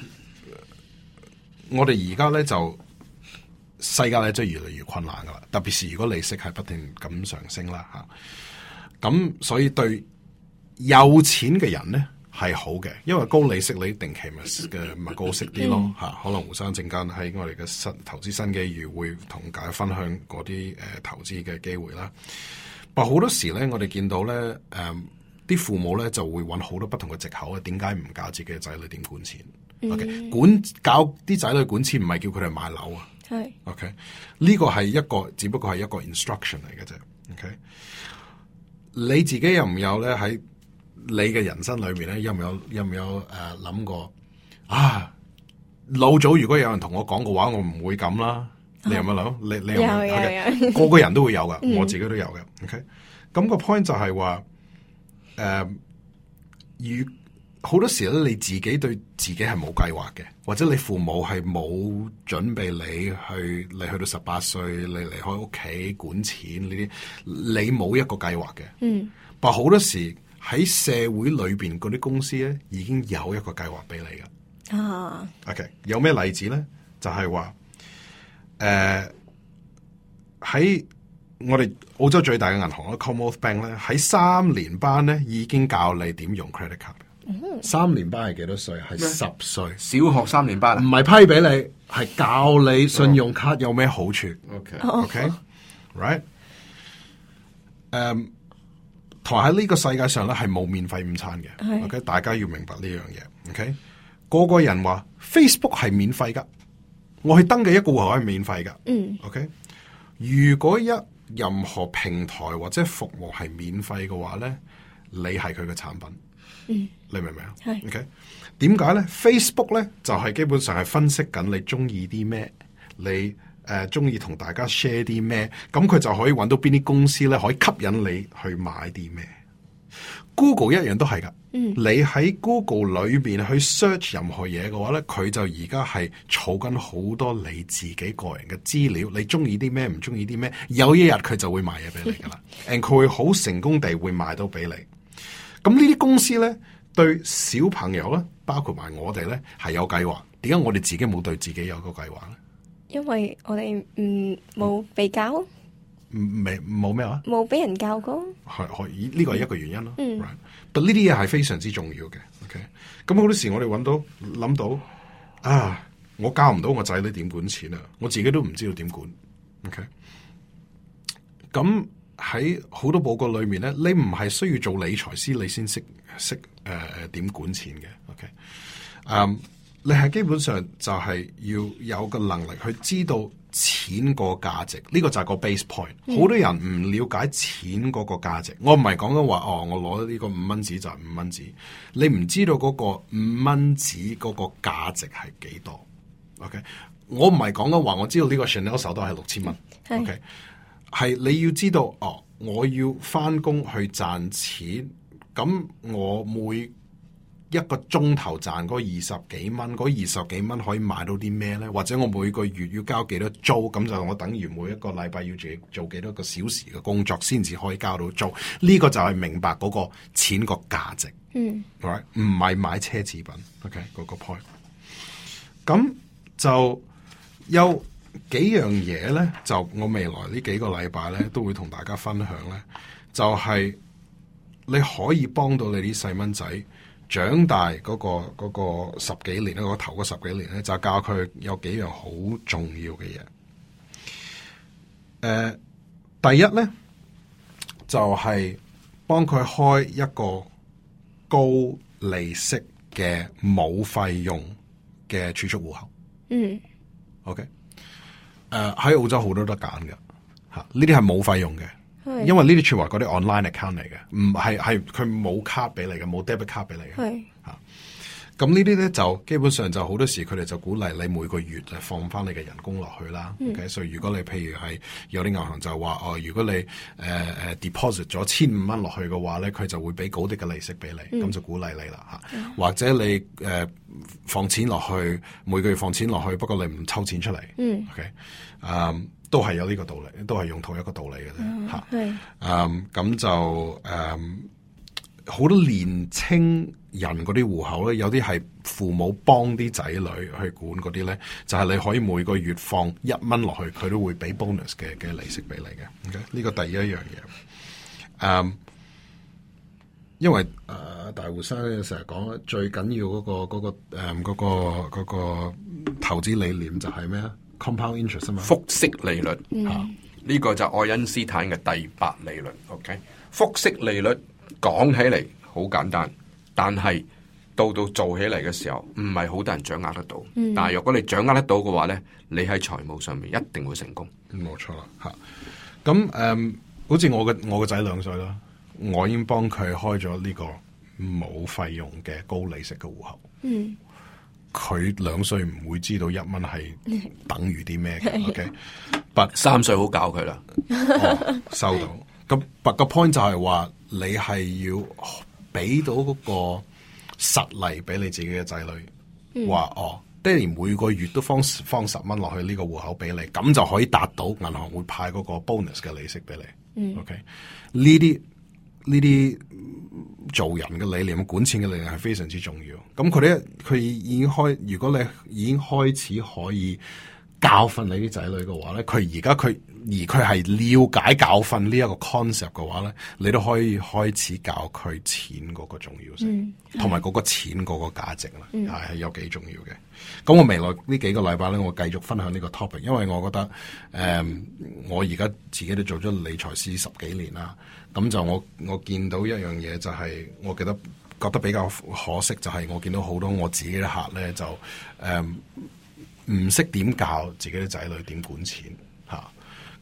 S2: 我哋而家咧就。世界咧真係越嚟越困難噶啦，特別是如果利息係不斷咁上升啦吓，咁所以對有錢嘅人咧係好嘅，因為高利息你定期咪嘅咪高息啲咯吓，可能胡生陣間喺我哋嘅新投資新機遇會同大家分享嗰啲誒投資嘅機會啦。但好多時咧，我哋見到咧誒啲父母咧就會揾好多不同嘅藉口啊，點解唔教自己嘅仔女點管錢、嗯、？OK， 管教啲仔女管錢唔係叫佢哋買樓啊。係，OK，呢個係一個，只不過係一個 instruction 嚟嘅啫。OK，你自己有唔有咧喺你嘅人生裏面咧，有唔有有唔有誒諗、呃、過啊？老早如果有人同我講嘅話，我唔會咁啦。你有冇諗？你你有冇？有有有個個人都會有噶，我自己都有嘅。OK，咁個 point 就係話，誒、呃，如好多時咧，你自己對自己係冇計劃嘅，或者你父母係冇準備你去，你去到十八歲，你離開屋企管錢呢啲，你冇一個計劃嘅。嗯，但好多時喺社會裏邊嗰啲公司咧，已經有一個計劃俾你噶。啊 ，OK， 有咩例子咧？就係話，誒，喺我哋澳洲最大嘅銀行 Commonwealth Bank 咧，喺三年班咧已經教你點用 credit card。三年班係幾多歲？係十歲，
S3: 小學三年班，
S2: 唔係批俾你，係教你信用卡有咩好處。OK，OK，right？ 誒，同埋喺呢個世界上咧係冇免費午餐嘅。OK， 大家要明白呢樣嘢。OK， 個個人話 Facebook 係免費噶，我去登記一個戶口係免費噶。嗯。OK， 如果一任何平台或者服務係免費嘅話咧，你係佢嘅產品。
S1: 嗯，
S2: 你明唔明啊？
S1: 係。
S2: OK，點解咧 ？Facebook 咧就係、是、基本上係分析緊你中意啲咩，你誒中意同大家 share 啲咩，咁佢就可以揾到邊啲公司咧可以吸引你去買啲咩。Google 一樣都係噶，嗯，你喺 Google 裏邊去 search 任何嘢嘅話咧，佢就而家係儲緊好多你自己個人嘅資料，你中意啲咩，唔中意啲咩，有一日佢就會賣嘢俾你噶啦，and 佢會好成功地會賣到俾你。咁呢啲公司咧，對小朋友咧，包括埋我哋咧，係有計劃。點解我哋自己冇對自己有個計劃咧？
S1: 因為我哋唔冇被教，
S2: 未冇咩話，
S1: 冇俾人教過，
S2: 係可以呢個係一個原因咯。
S1: 嗯，
S2: 但呢啲嘢係非常之重要嘅。OK，咁好多時我哋揾到諗到啊，我教唔到我仔女點管錢啊，我自己都唔知道點管。OK，咁。喺好多報告裏面咧，你唔係需要做理財師，你先識識誒點管錢嘅。OK，嗯、um, 你係基本上就係要有個能力去知道錢個價值，呢、這個就係個 base point。好、嗯、多人唔了解錢嗰個價值。我唔係講緊話哦，我攞呢個五蚊紙就係五蚊紙，你唔知道嗰個五蚊紙嗰個價值係幾多。OK，我唔係講緊話我知道呢個 Chanel 手袋係六千蚊。OK。係你要知道哦，我要翻工去賺錢，咁我每一個鐘頭賺嗰二十幾蚊，嗰二十幾蚊可以買到啲咩咧？或者我每個月要交幾多租？咁就我等於每一個禮拜要做做幾多個小時嘅工作，先至可以交到租。呢、這個就係明白嗰個錢個價值。嗯，唔係買奢侈品。OK，嗰個 point。咁就有。幾樣嘢咧，就我未來呢幾個禮拜咧，都會同大家分享咧，就係、是、你可以幫到你啲細蚊仔長大嗰、那個、那個十幾年咧，嗰、那個、頭嗰十幾年咧，就教佢有幾樣好重要嘅嘢。誒、呃，第一咧就係、是、幫佢開一個高利息嘅冇費用嘅儲蓄戶口。嗯 ，OK。誒、uh, 喺澳洲好多得揀嘅嚇，呢啲係冇費用嘅，因為呢啲全部係嗰啲 online account 嚟嘅，唔係係佢冇卡俾你嘅，冇 debit 卡俾你嘅嚇。咁呢啲咧就基本上就好多時佢哋就鼓勵你每個月就放翻你嘅人工落去啦。嗯、OK，所以如果你譬如係有啲銀行就話哦，如果你誒誒、uh, deposit 咗千五蚊落去嘅話咧，佢就會俾高啲嘅利息俾你，咁、嗯、就鼓勵你啦嚇。嗯、或者你誒、uh, 放錢落去，每個月放錢落去，不過你唔抽錢出嚟。嗯、OK，誒、um, 都係有呢個道理，都係用同一個道理嘅啫嚇。係誒咁就誒好、um, 多年青人嗰啲戶口咧，有啲係父母幫啲仔女去管嗰啲咧，就係、是、你可以每個月放一蚊落去，佢都會俾 bonus 嘅嘅利息俾你嘅。OK，呢個第一樣嘢。誒、um,，因為誒、呃、大胡生成日講最緊要嗰、那個嗰、那個誒嗰、嗯那個嗰、那個投資理念就係咩啊 ？compound interest 啊嘛，
S3: 複息利率。嗯，呢、啊這個就愛因斯坦嘅第八理論。OK，複息利率講起嚟好簡單。但係到到做起嚟嘅時候，唔係好多人掌握得到。嗯、但係如果你掌握得到嘅話咧，你喺財務上面一定會成功。
S2: 冇錯啦，吓咁誒，好似我嘅我個仔兩歲啦，我已經幫佢開咗呢個冇費用嘅高利息嘅戶口。嗯，佢兩歲唔會知道一蚊係等於啲咩嘅。OK，但
S3: 三歲好教佢啦。
S2: 哦，收到。咁但個 point 就係話你係要。俾到嗰個實例俾你自己嘅仔女，話、嗯、哦，爹哋每個月都放放十蚊落去呢個戶口俾你，咁就可以達到銀行會派嗰個 bonus 嘅利息俾你。嗯、OK，呢啲呢啲做人嘅理念、管錢嘅理念係非常之重要。咁佢哋佢已經開，如果你已經開始可以教訓你啲仔女嘅話咧，佢而家佢。而佢係了解教訓呢一個 concept 嘅話咧，你都可以開始教佢錢嗰個重要性，同埋嗰個錢嗰個價值啦，係係、嗯、有幾重要嘅。咁我未來呢幾個禮拜咧，我繼續分享呢個 topic，因為我覺得誒、嗯，我而家自己都做咗理財師十幾年啦，咁就我我見到一樣嘢就係、是，我記得覺得比較可惜就係，我見到好多我自己嘅客咧就誒唔識點教自己嘅仔女點管錢嚇。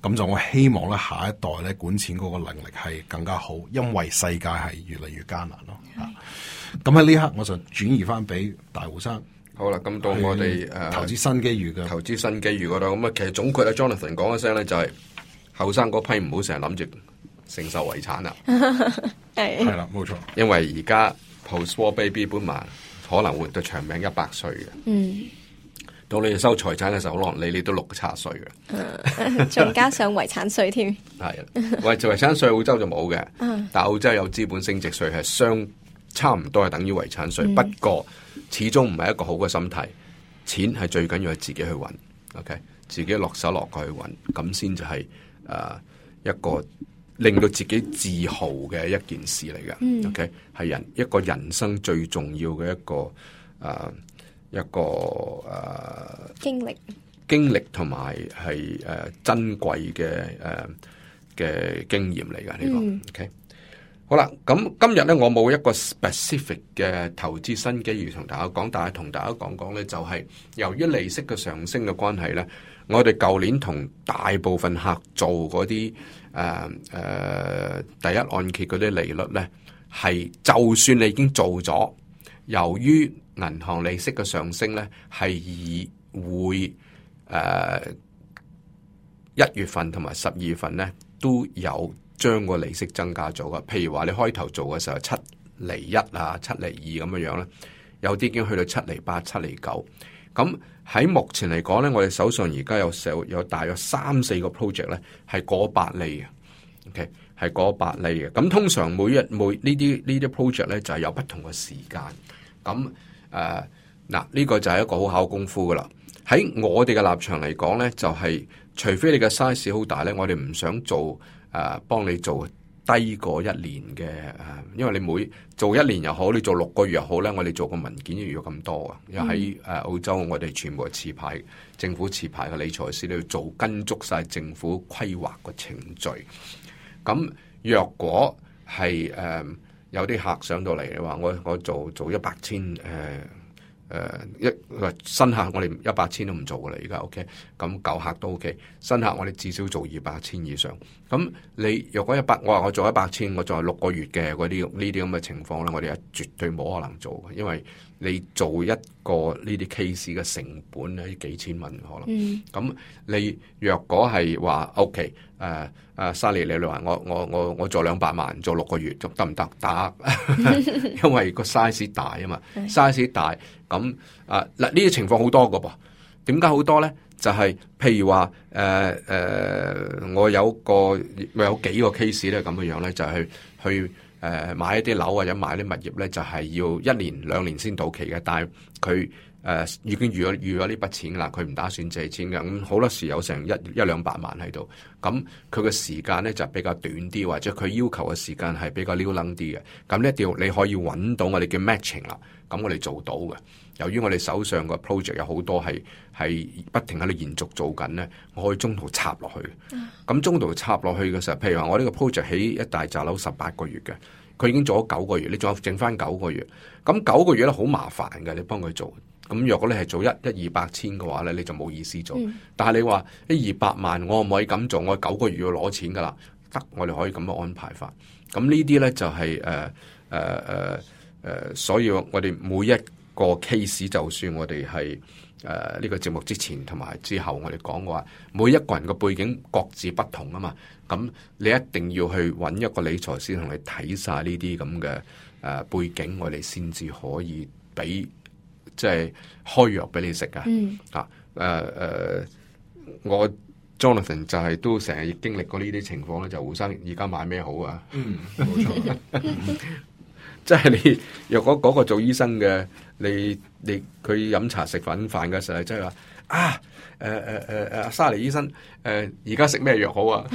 S2: 咁就我希望咧下一代咧管錢嗰個能力係更加好，因為世界係越嚟越艱難咯。咁喺呢刻我就轉移翻俾大胡生。
S3: 好啦，咁到我哋誒
S2: 投資新機遇嘅
S3: 投資新機遇嗰度，咁啊其實總括阿 Jonathan 講一聲咧，就係後生嗰批唔好成日諗住承受遺產啦。
S1: 係
S2: 係啦，冇錯。
S3: 因為而家 post-war baby boomer 可能活到長命一百歲嘅。
S1: 嗯。
S3: 到你哋收財產嘅時候，可能你你都六七十歲嘅。
S1: 仲加上遺產稅添。
S3: 係，喂，遺產稅澳洲就冇嘅，但澳洲有資本升值稅，係相差唔多係等於遺產稅。嗯、不過始終唔係一個好嘅心態，錢係最緊要係自己去揾 ，OK， 自己落手落腳去揾，咁先就係誒一個令到自己自豪嘅一件事嚟嘅。嗯、OK， 係人一個人生最重要嘅一個誒。呃一個誒、呃、
S1: 經歷
S3: 經歷同埋係誒珍貴嘅誒嘅經驗嚟㗎呢個、嗯、OK 好啦，咁今日咧我冇一個 specific 嘅投資新機遇同大家講，但係同大家講講咧就係、是、由於利息嘅上升嘅關係咧，我哋舊年同大部分客做嗰啲誒誒第一按揭嗰啲利率咧係，就算你已經做咗，由於銀行利息嘅上升咧，係以會誒一月份同埋十二月份咧都有將個利息增加咗嘅。譬如話你開頭做嘅時候七厘一啊、七厘二咁樣樣咧，有啲已經去到七厘八、七厘九。咁喺目前嚟講咧，我哋手上而家有有有大約三四個 project 咧係過百厘嘅。OK， 係過百厘嘅。咁通常每一每呢啲呢啲 project 咧就係有不同嘅時間。咁誒，嗱、uh, 呢個就係一個好考功夫噶啦。喺我哋嘅立場嚟講咧，就係、是、除非你嘅 size 好大咧，我哋唔想做誒，幫、uh, 你做低過一年嘅誒，因為你每做一年又好，你做六個月又好咧，我哋做個文件要要咁多啊。因為喺誒澳洲，我哋全部係持牌政府持牌嘅理財師，你要做跟足晒政府規劃嘅程序。咁若果係誒。Uh, 有啲客上到嚟，你話我我做做一百千誒誒一新客，我哋一百千都唔做噶啦，而家 OK。咁舊客都 OK， 新客我哋至少做二百千以上。咁你若果一百，我話我做一百千，我做六個月嘅嗰啲呢啲咁嘅情況咧，我哋係絕對冇可能做嘅，因為你做一個呢啲 case 嘅成本咧幾千蚊可能。咁、嗯、你若果係話 OK。誒誒，Sally，你話我我我我做兩百萬做六個月，做得唔得？得，因為個 size 大啊嘛，size 大咁啊嗱，呢啲情況好多個噃。點解好多咧？就係、是、譬如話誒誒，我有個有幾個 case 咧咁嘅樣咧，就係、是、去誒、呃、買一啲樓或者買啲物業咧，就係、是、要一年兩年先到期嘅，但係佢。誒、呃、已經預咗預咗呢筆錢啦，佢唔打算借錢嘅，咁好多時有成一一兩百萬喺度，咁佢嘅時間咧就比較短啲，或者佢要求嘅時間係比較溜楞啲嘅，咁呢一定要你可以揾到我哋叫 matching 啦，咁我哋做到嘅。由於我哋手上個 project 有好多係係不停喺度延續做緊咧，我可以中途插落去。咁、嗯、中途插落去嘅時候，譬如話我呢個 project 起一大紮樓十八個月嘅，佢已經做咗九個月，你仲有剩翻九個月，咁九個月咧好麻煩嘅，你幫佢做。咁若果你係做一一二百千嘅話咧，你就冇意思做。嗯、但係你話一二百萬，我唔可以咁做，我九個月要攞錢噶啦，得我哋可以咁樣安排法。咁呢啲咧就係誒誒誒誒，所以我哋每一個 case， 就算我哋係誒呢個節目之前同埋之後，我哋講嘅話，每一個人嘅背景各自不同啊嘛。咁你一定要去揾一個理財師同你睇晒呢啲咁嘅誒背景，我哋先至可以俾。即係開藥俾你食噶，嗯、啊誒誒、呃，我 Jonathan 就係都成日經歷過呢啲情況咧，就胡生而家買咩好啊？嗯，冇錯，即係你若果嗰個做醫生嘅，你你佢飲茶食粉飯嘅時候，即係話啊誒誒誒誒，沙尼醫生誒，而家食咩藥好啊？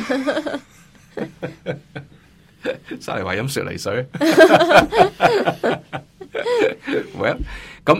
S3: 沙尼話飲雪梨水，喂咁。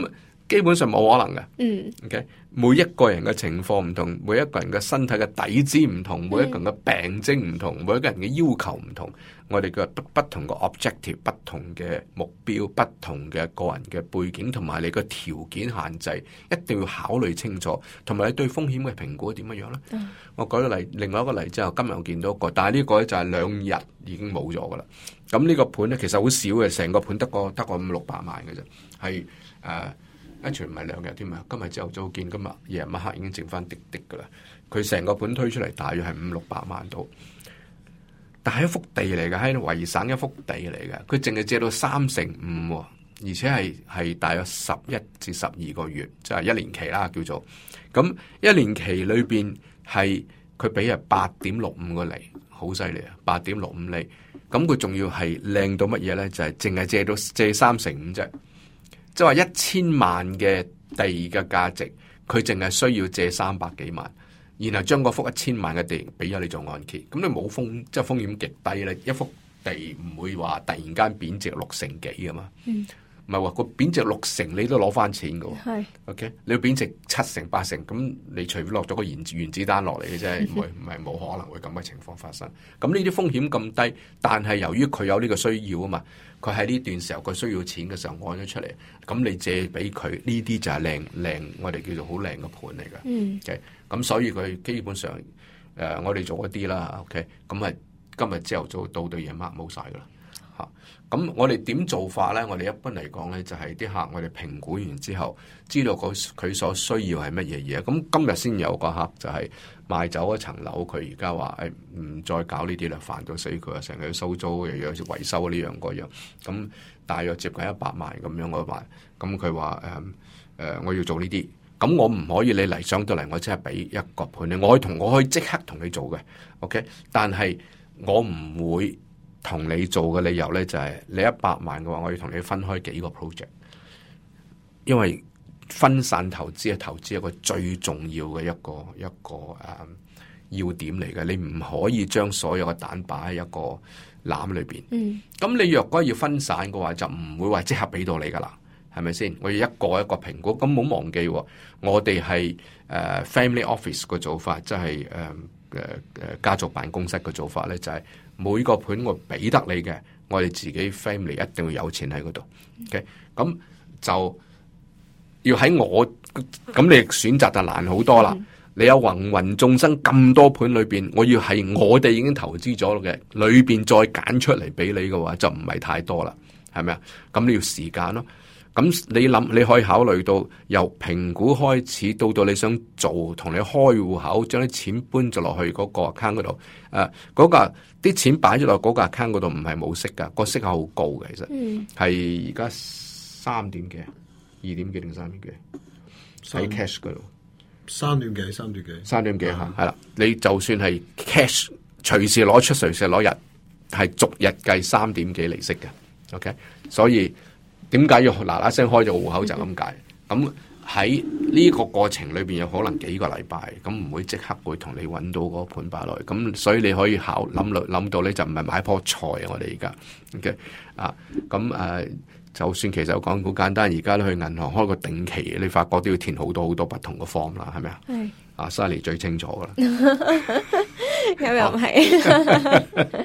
S3: 基本上冇可能嘅。
S1: 嗯
S3: ，OK，每一個人嘅情況唔同，每一個人嘅身體嘅底子唔同，每一個人嘅病徵唔同，每一個人嘅要求唔同，我哋嘅不不同嘅 objective， 不同嘅目標，不同嘅個人嘅背景，同埋你嘅條件限制，一定要考慮清楚，同埋你對風險嘅評估點樣樣咧？嗯、我舉個例，另外一個例子，我今日我見到一個，但係呢個咧就係兩日已經冇咗噶啦。咁呢個盤咧其實好少嘅，成個盤得個得個五六百萬嘅啫，係誒。一全唔係兩日添啊！今日朝頭早見，今日夜晚黑已經剩翻滴滴噶啦。佢成個盤推出嚟，大約係五六百萬度，但係一幅地嚟嘅，喺維省一幅地嚟嘅，佢淨係借到三成五，而且係係大約十一至十二個月，即係一年期啦，叫做咁一年期裏邊係佢俾係八點六五個厘，好犀利啊！八點六五厘，咁佢仲要係靚到乜嘢咧？就係淨係借到借三成五啫。即係話一千萬嘅地嘅價值，佢淨係需要借三百幾萬，然後將嗰幅一千萬嘅地俾咗你做按揭，咁你冇風，即係風險極低咧。一幅地唔會話突然間貶值六成幾㗎嘛，唔係話個貶值六成你都攞翻錢㗎喎。係 OK，你要貶值七成八成，咁你除非落咗個原原子彈落嚟嘅啫，唔係唔係冇可能會咁嘅情況發生。咁呢啲風險咁低，但係由於佢有呢個需要啊嘛。佢喺呢段時候佢需要錢嘅時候按咗出嚟，咁你借俾佢呢啲就係靚靚，我哋叫做好靚嘅盤嚟嘅。嗯，咁、okay? 所以佢基本上誒、呃，我哋做一啲啦。OK，咁係今日朝頭早到到夜晚冇晒噶啦。嚇，咁我哋點做法咧？我哋一般嚟講咧，就係、是、啲客我哋評估完之後，知道佢佢所需要係乜嘢嘢。咁今日先有個客就係賣走一層樓，佢而家話誒唔再搞呢啲啦，煩到死佢啊！成日要收租又要維修呢樣嗰樣，咁大約接近一百萬咁樣我話，咁佢話誒誒我要做呢啲，咁我唔可以你嚟上到嚟，我即係俾一個盤你，我可以同我可以即刻同你做嘅 ，OK，但係我唔會同你做嘅理由咧就係、是、你一百萬嘅話，我要同你分開幾個 project， 因為分散投資係投資一個最重要嘅一個一個誒、uh, 要點嚟嘅，你唔可以將所有嘅蛋擺喺一個籃裏邊。嗯，咁你若果要分散嘅話，就唔會話即刻俾到你噶啦，係咪先？我要一個一個評估。咁冇忘記，我哋係誒 family office 嘅做法，即係誒誒誒家族辦公室嘅做法咧，就係、是、每個盤我俾得你嘅，我哋自己 family 一定要有錢喺嗰度。OK，咁就。要喺我咁，你選擇就難好多啦。嗯、你有芸芸眾生咁多盤裏邊，我要係我哋已經投資咗嘅裏邊再揀出嚟俾你嘅話，就唔係太多啦，係咪啊？咁你要時間咯。咁你諗，你可以考慮到由評估開始到到你想做，同你開戶口，將啲錢搬咗落去嗰個 account 嗰度。誒、呃，嗰、嗰個啲錢擺咗落嗰個 account 嗰度，唔係冇息噶，個息係好高嘅，其實係而家三點幾。二點幾定三點幾？喺 cash 嗰度，
S2: 三點幾，三點幾，
S3: 三點幾吓，係啦。你就算係 cash，隨時攞出，隨時攞入，係逐日計三點幾利息嘅。OK，所以點解要嗱嗱聲開咗戶口就咁解？咁喺呢個過程裏邊有可能幾個禮拜，咁唔會即刻會同你揾到嗰盤擺落去。咁所以你可以考諗諗到咧，就唔係買棵菜啊！我哋而家 OK 啊，咁誒。就算其實我講好簡單，而家咧去銀行開個定期，你發覺都要填好多好多不同嘅 form 啦，係咪啊？係。阿 Sally 最清楚噶啦。
S1: 咁又唔係。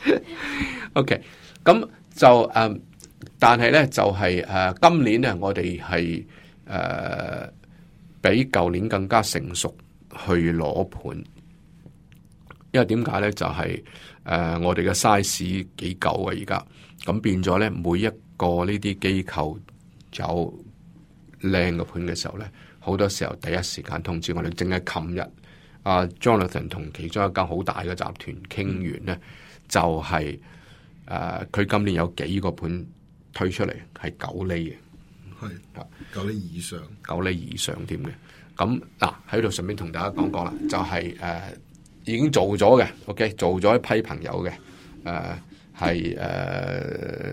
S3: OK，咁就誒、呃，但係咧就係、是、誒、呃，今年咧我哋係誒比舊年更加成熟去攞盤，因為點解咧？就係、是、誒、呃、我哋嘅 size 幾夠啊，而家咁變咗咧，每一個呢啲機構有靚嘅盤嘅時候咧，好多時候第一時間通知我哋。淨係琴日阿 Jonathan 同其中一間好大嘅集團傾完咧，就係誒佢今年有幾個盤推出嚟係九厘嘅，
S2: 係九厘以上，
S3: 九厘以上添嘅。咁嗱喺度順便同大家講講啦，就係、是、誒、呃、已經做咗嘅 ，OK 做咗一批朋友嘅，誒係誒。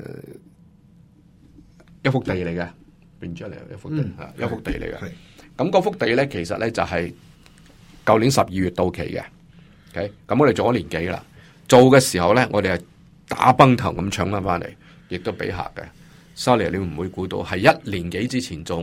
S3: 一幅地嚟嘅，變出嚟一幅地，嗯、一幅地嚟嘅。咁嗰幅地咧，其實咧就係舊年十二月到期嘅。OK，咁我哋做咗年幾啦。做嘅時候咧，我哋係打崩頭咁搶翻翻嚟，亦都俾客嘅。Sorry，你唔會估到係一年幾之前做，我哋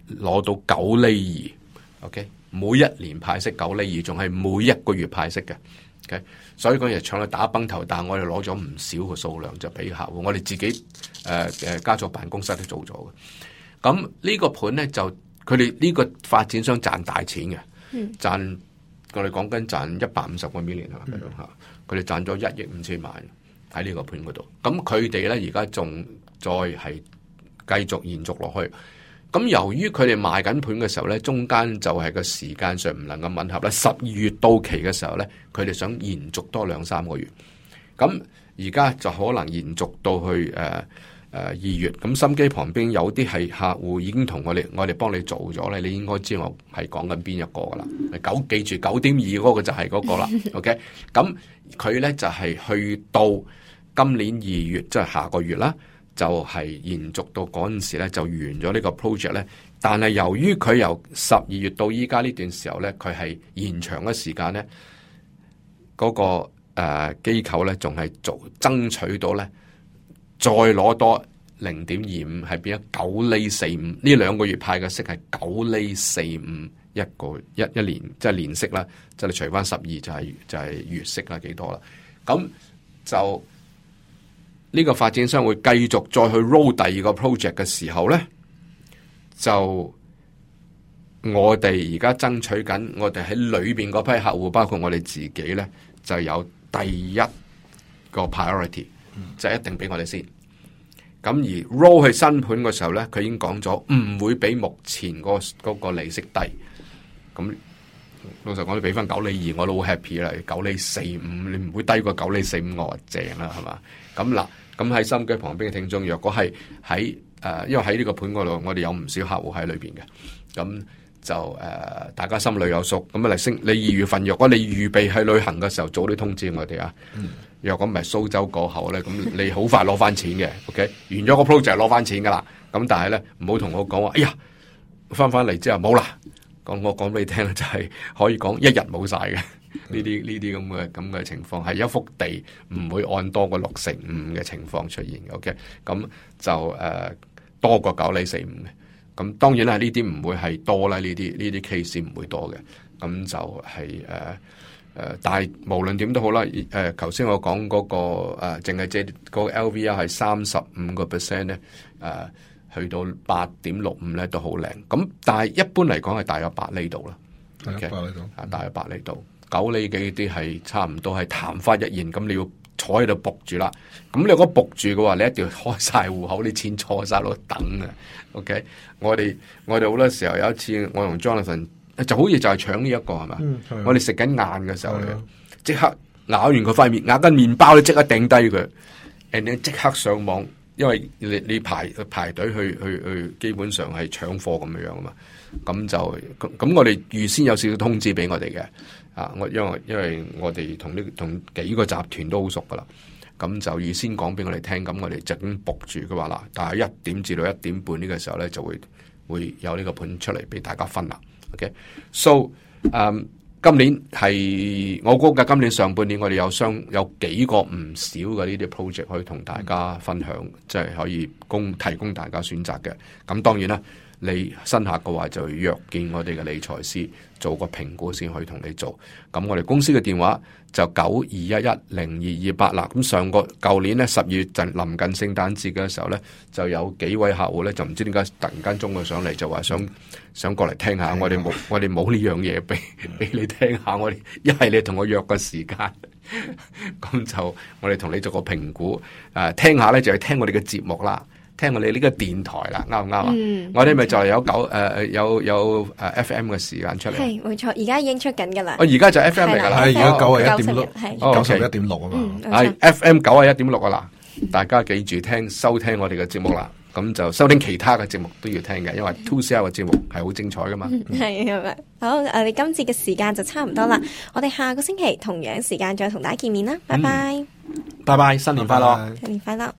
S3: 攞到九厘二 ，OK， 每一年派息九厘二，仲係每一個月派息嘅。Okay? 所以嗰日搶去打崩頭，但係我哋攞咗唔少嘅數量就俾客戶，我哋自己誒誒、呃、家族辦公室都做咗嘅。咁呢個盤咧就佢哋呢個發展商賺大錢嘅，嗯、賺我哋講緊賺一百五十個 million 係嘛咁樣嚇，佢哋賺咗一億五千萬喺呢個盤嗰度。咁佢哋咧而家仲再係繼續延續落去。咁由於佢哋賣緊盤嘅時候咧，中間就係個時間上唔能夠吻合咧。十二月到期嘅時候咧，佢哋想延續多兩三個月。咁而家就可能延續到去誒誒二月。咁心機旁邊有啲係客戶已經同我哋，我哋幫你做咗咧，你應該知我係講緊邊一個噶啦。九記住九點二嗰個就係嗰個啦。OK，咁佢咧就係去到今年二月，即係下個月啦。就係延續到嗰陣時咧，就完咗呢個 project 咧。但係由於佢由十二月到依家呢段時候咧，佢係延長嘅時間咧，嗰、那個誒、呃、機構咧仲係做爭取到咧，再攞多零點二五，係變咗九厘四五。呢兩個月派嘅息係九厘四五一個一一年，即係年息啦，即係你除翻十二就係、是、就係、是、月息啦，幾多啦？咁就。呢個發展商會繼續再去 roll 第二個 project 嘅時候咧，就我哋而家爭取緊，我哋喺裏邊嗰批客戶，包括我哋自己咧，就有第一個 priority，就一定俾我哋先。咁而 roll 去新盤嘅時候咧，佢已經講咗唔會比目前嗰嗰個利息低。咁老實講，你俾翻九厘二，我都好 happy 啦。九厘四五，你唔會低過九厘四五，我話正啦，係嘛？咁嗱。咁喺心機旁邊嘅聽眾，若果係喺誒，因為喺呢個盤嗰度，我哋有唔少客戶喺裏邊嘅，咁就誒、呃，大家心裏有數。咁啊嚟升，你二月份若果你預備去旅行嘅時候，早啲通知我哋啊。嗯、若果唔係蘇州過後咧，咁你好快攞翻錢嘅。OK， 完咗個 project 攞翻錢噶啦。咁但係咧，唔好同我講話，哎呀，翻翻嚟之後冇啦。講我講俾你聽咧，就係、是、可以講一日冇晒嘅。呢啲呢啲咁嘅咁嘅情況，係一幅地唔會按多過六成五嘅情況出現。OK，咁就誒、呃、多過九厘四五嘅。咁當然啦，呢啲唔會係多啦，呢啲呢啲 case 唔會多嘅。咁就係誒誒，但係無論點都好啦。誒、呃，頭先我講嗰、那個誒，淨係借個 L V R 係三十五個 percent 咧，誒、呃，去到八點六五咧都好靚。咁但係一般嚟講係大約八厘度啦。OK，啊，大約八厘度。九厘幾啲係差唔多係曇花一現，咁你要坐喺度仆住啦。咁你如果仆住嘅話，你一定要開晒戶口，啲錢坐晒喺度等啊。OK， 我哋我哋好多時候有一次，我同 Jonathan 就好似就係搶呢一個係嘛，嗯、我哋食緊晏嘅時候咧，即刻咬完佢塊面，咬緊麵包，你即刻掟低佢，然後即刻上網，因為你你排排隊去去去，基本上係搶貨咁樣樣啊嘛。咁就咁咁，我哋預先有少少通知俾我哋嘅。啊！我因為因為我哋同呢同幾個集團都好熟噶啦，咁就預先講俾我哋聽，咁我哋就已經 book 住嘅話啦。但係一點至到一點半呢個時候咧，就會會有呢個盤出嚟俾大家分啦。OK，so，、okay? 誒、um, 今年係我估計今年上半年我哋有相有幾個唔少嘅呢啲 project 可以同大家分享，即係、嗯、可以供提供大家選擇嘅。咁當然啦。你新客嘅話就約見我哋嘅理財師做個評估先可以同你做。咁我哋公司嘅電話就九二一一零二二八啦。咁上個舊年咧十二月陣臨近聖誕節嘅時候咧，就有幾位客戶咧就唔知點解突然間中佢上嚟就話想想過嚟聽下。我哋冇我哋冇呢樣嘢俾俾你聽下。我哋一係你同我約個時間，咁就我哋同你做個評估。誒、呃，聽下咧就係聽我哋嘅節目啦。聽我哋呢個電台啦，啱唔啱啊？嗯、我哋咪就係有九誒誒有有誒 F M 嘅時間出嚟。係
S1: 冇錯，而家已經出緊噶啦。
S3: 我而家就 F M 嚟噶啦，
S2: 係而家九啊一點六，九十一點六啊嘛。
S3: 係 F M 九啊一點六啊啦，大家記住聽收聽我哋嘅節目啦。咁就收聽其他嘅節目都要聽嘅，因為 two C R 嘅節目係好精彩噶嘛。
S1: 係係咪？好，我哋今次嘅時間就差唔多啦。我哋下個星期同樣時間再同大家見面啦。拜拜。
S3: 拜拜，新年快樂，
S1: 新年快樂。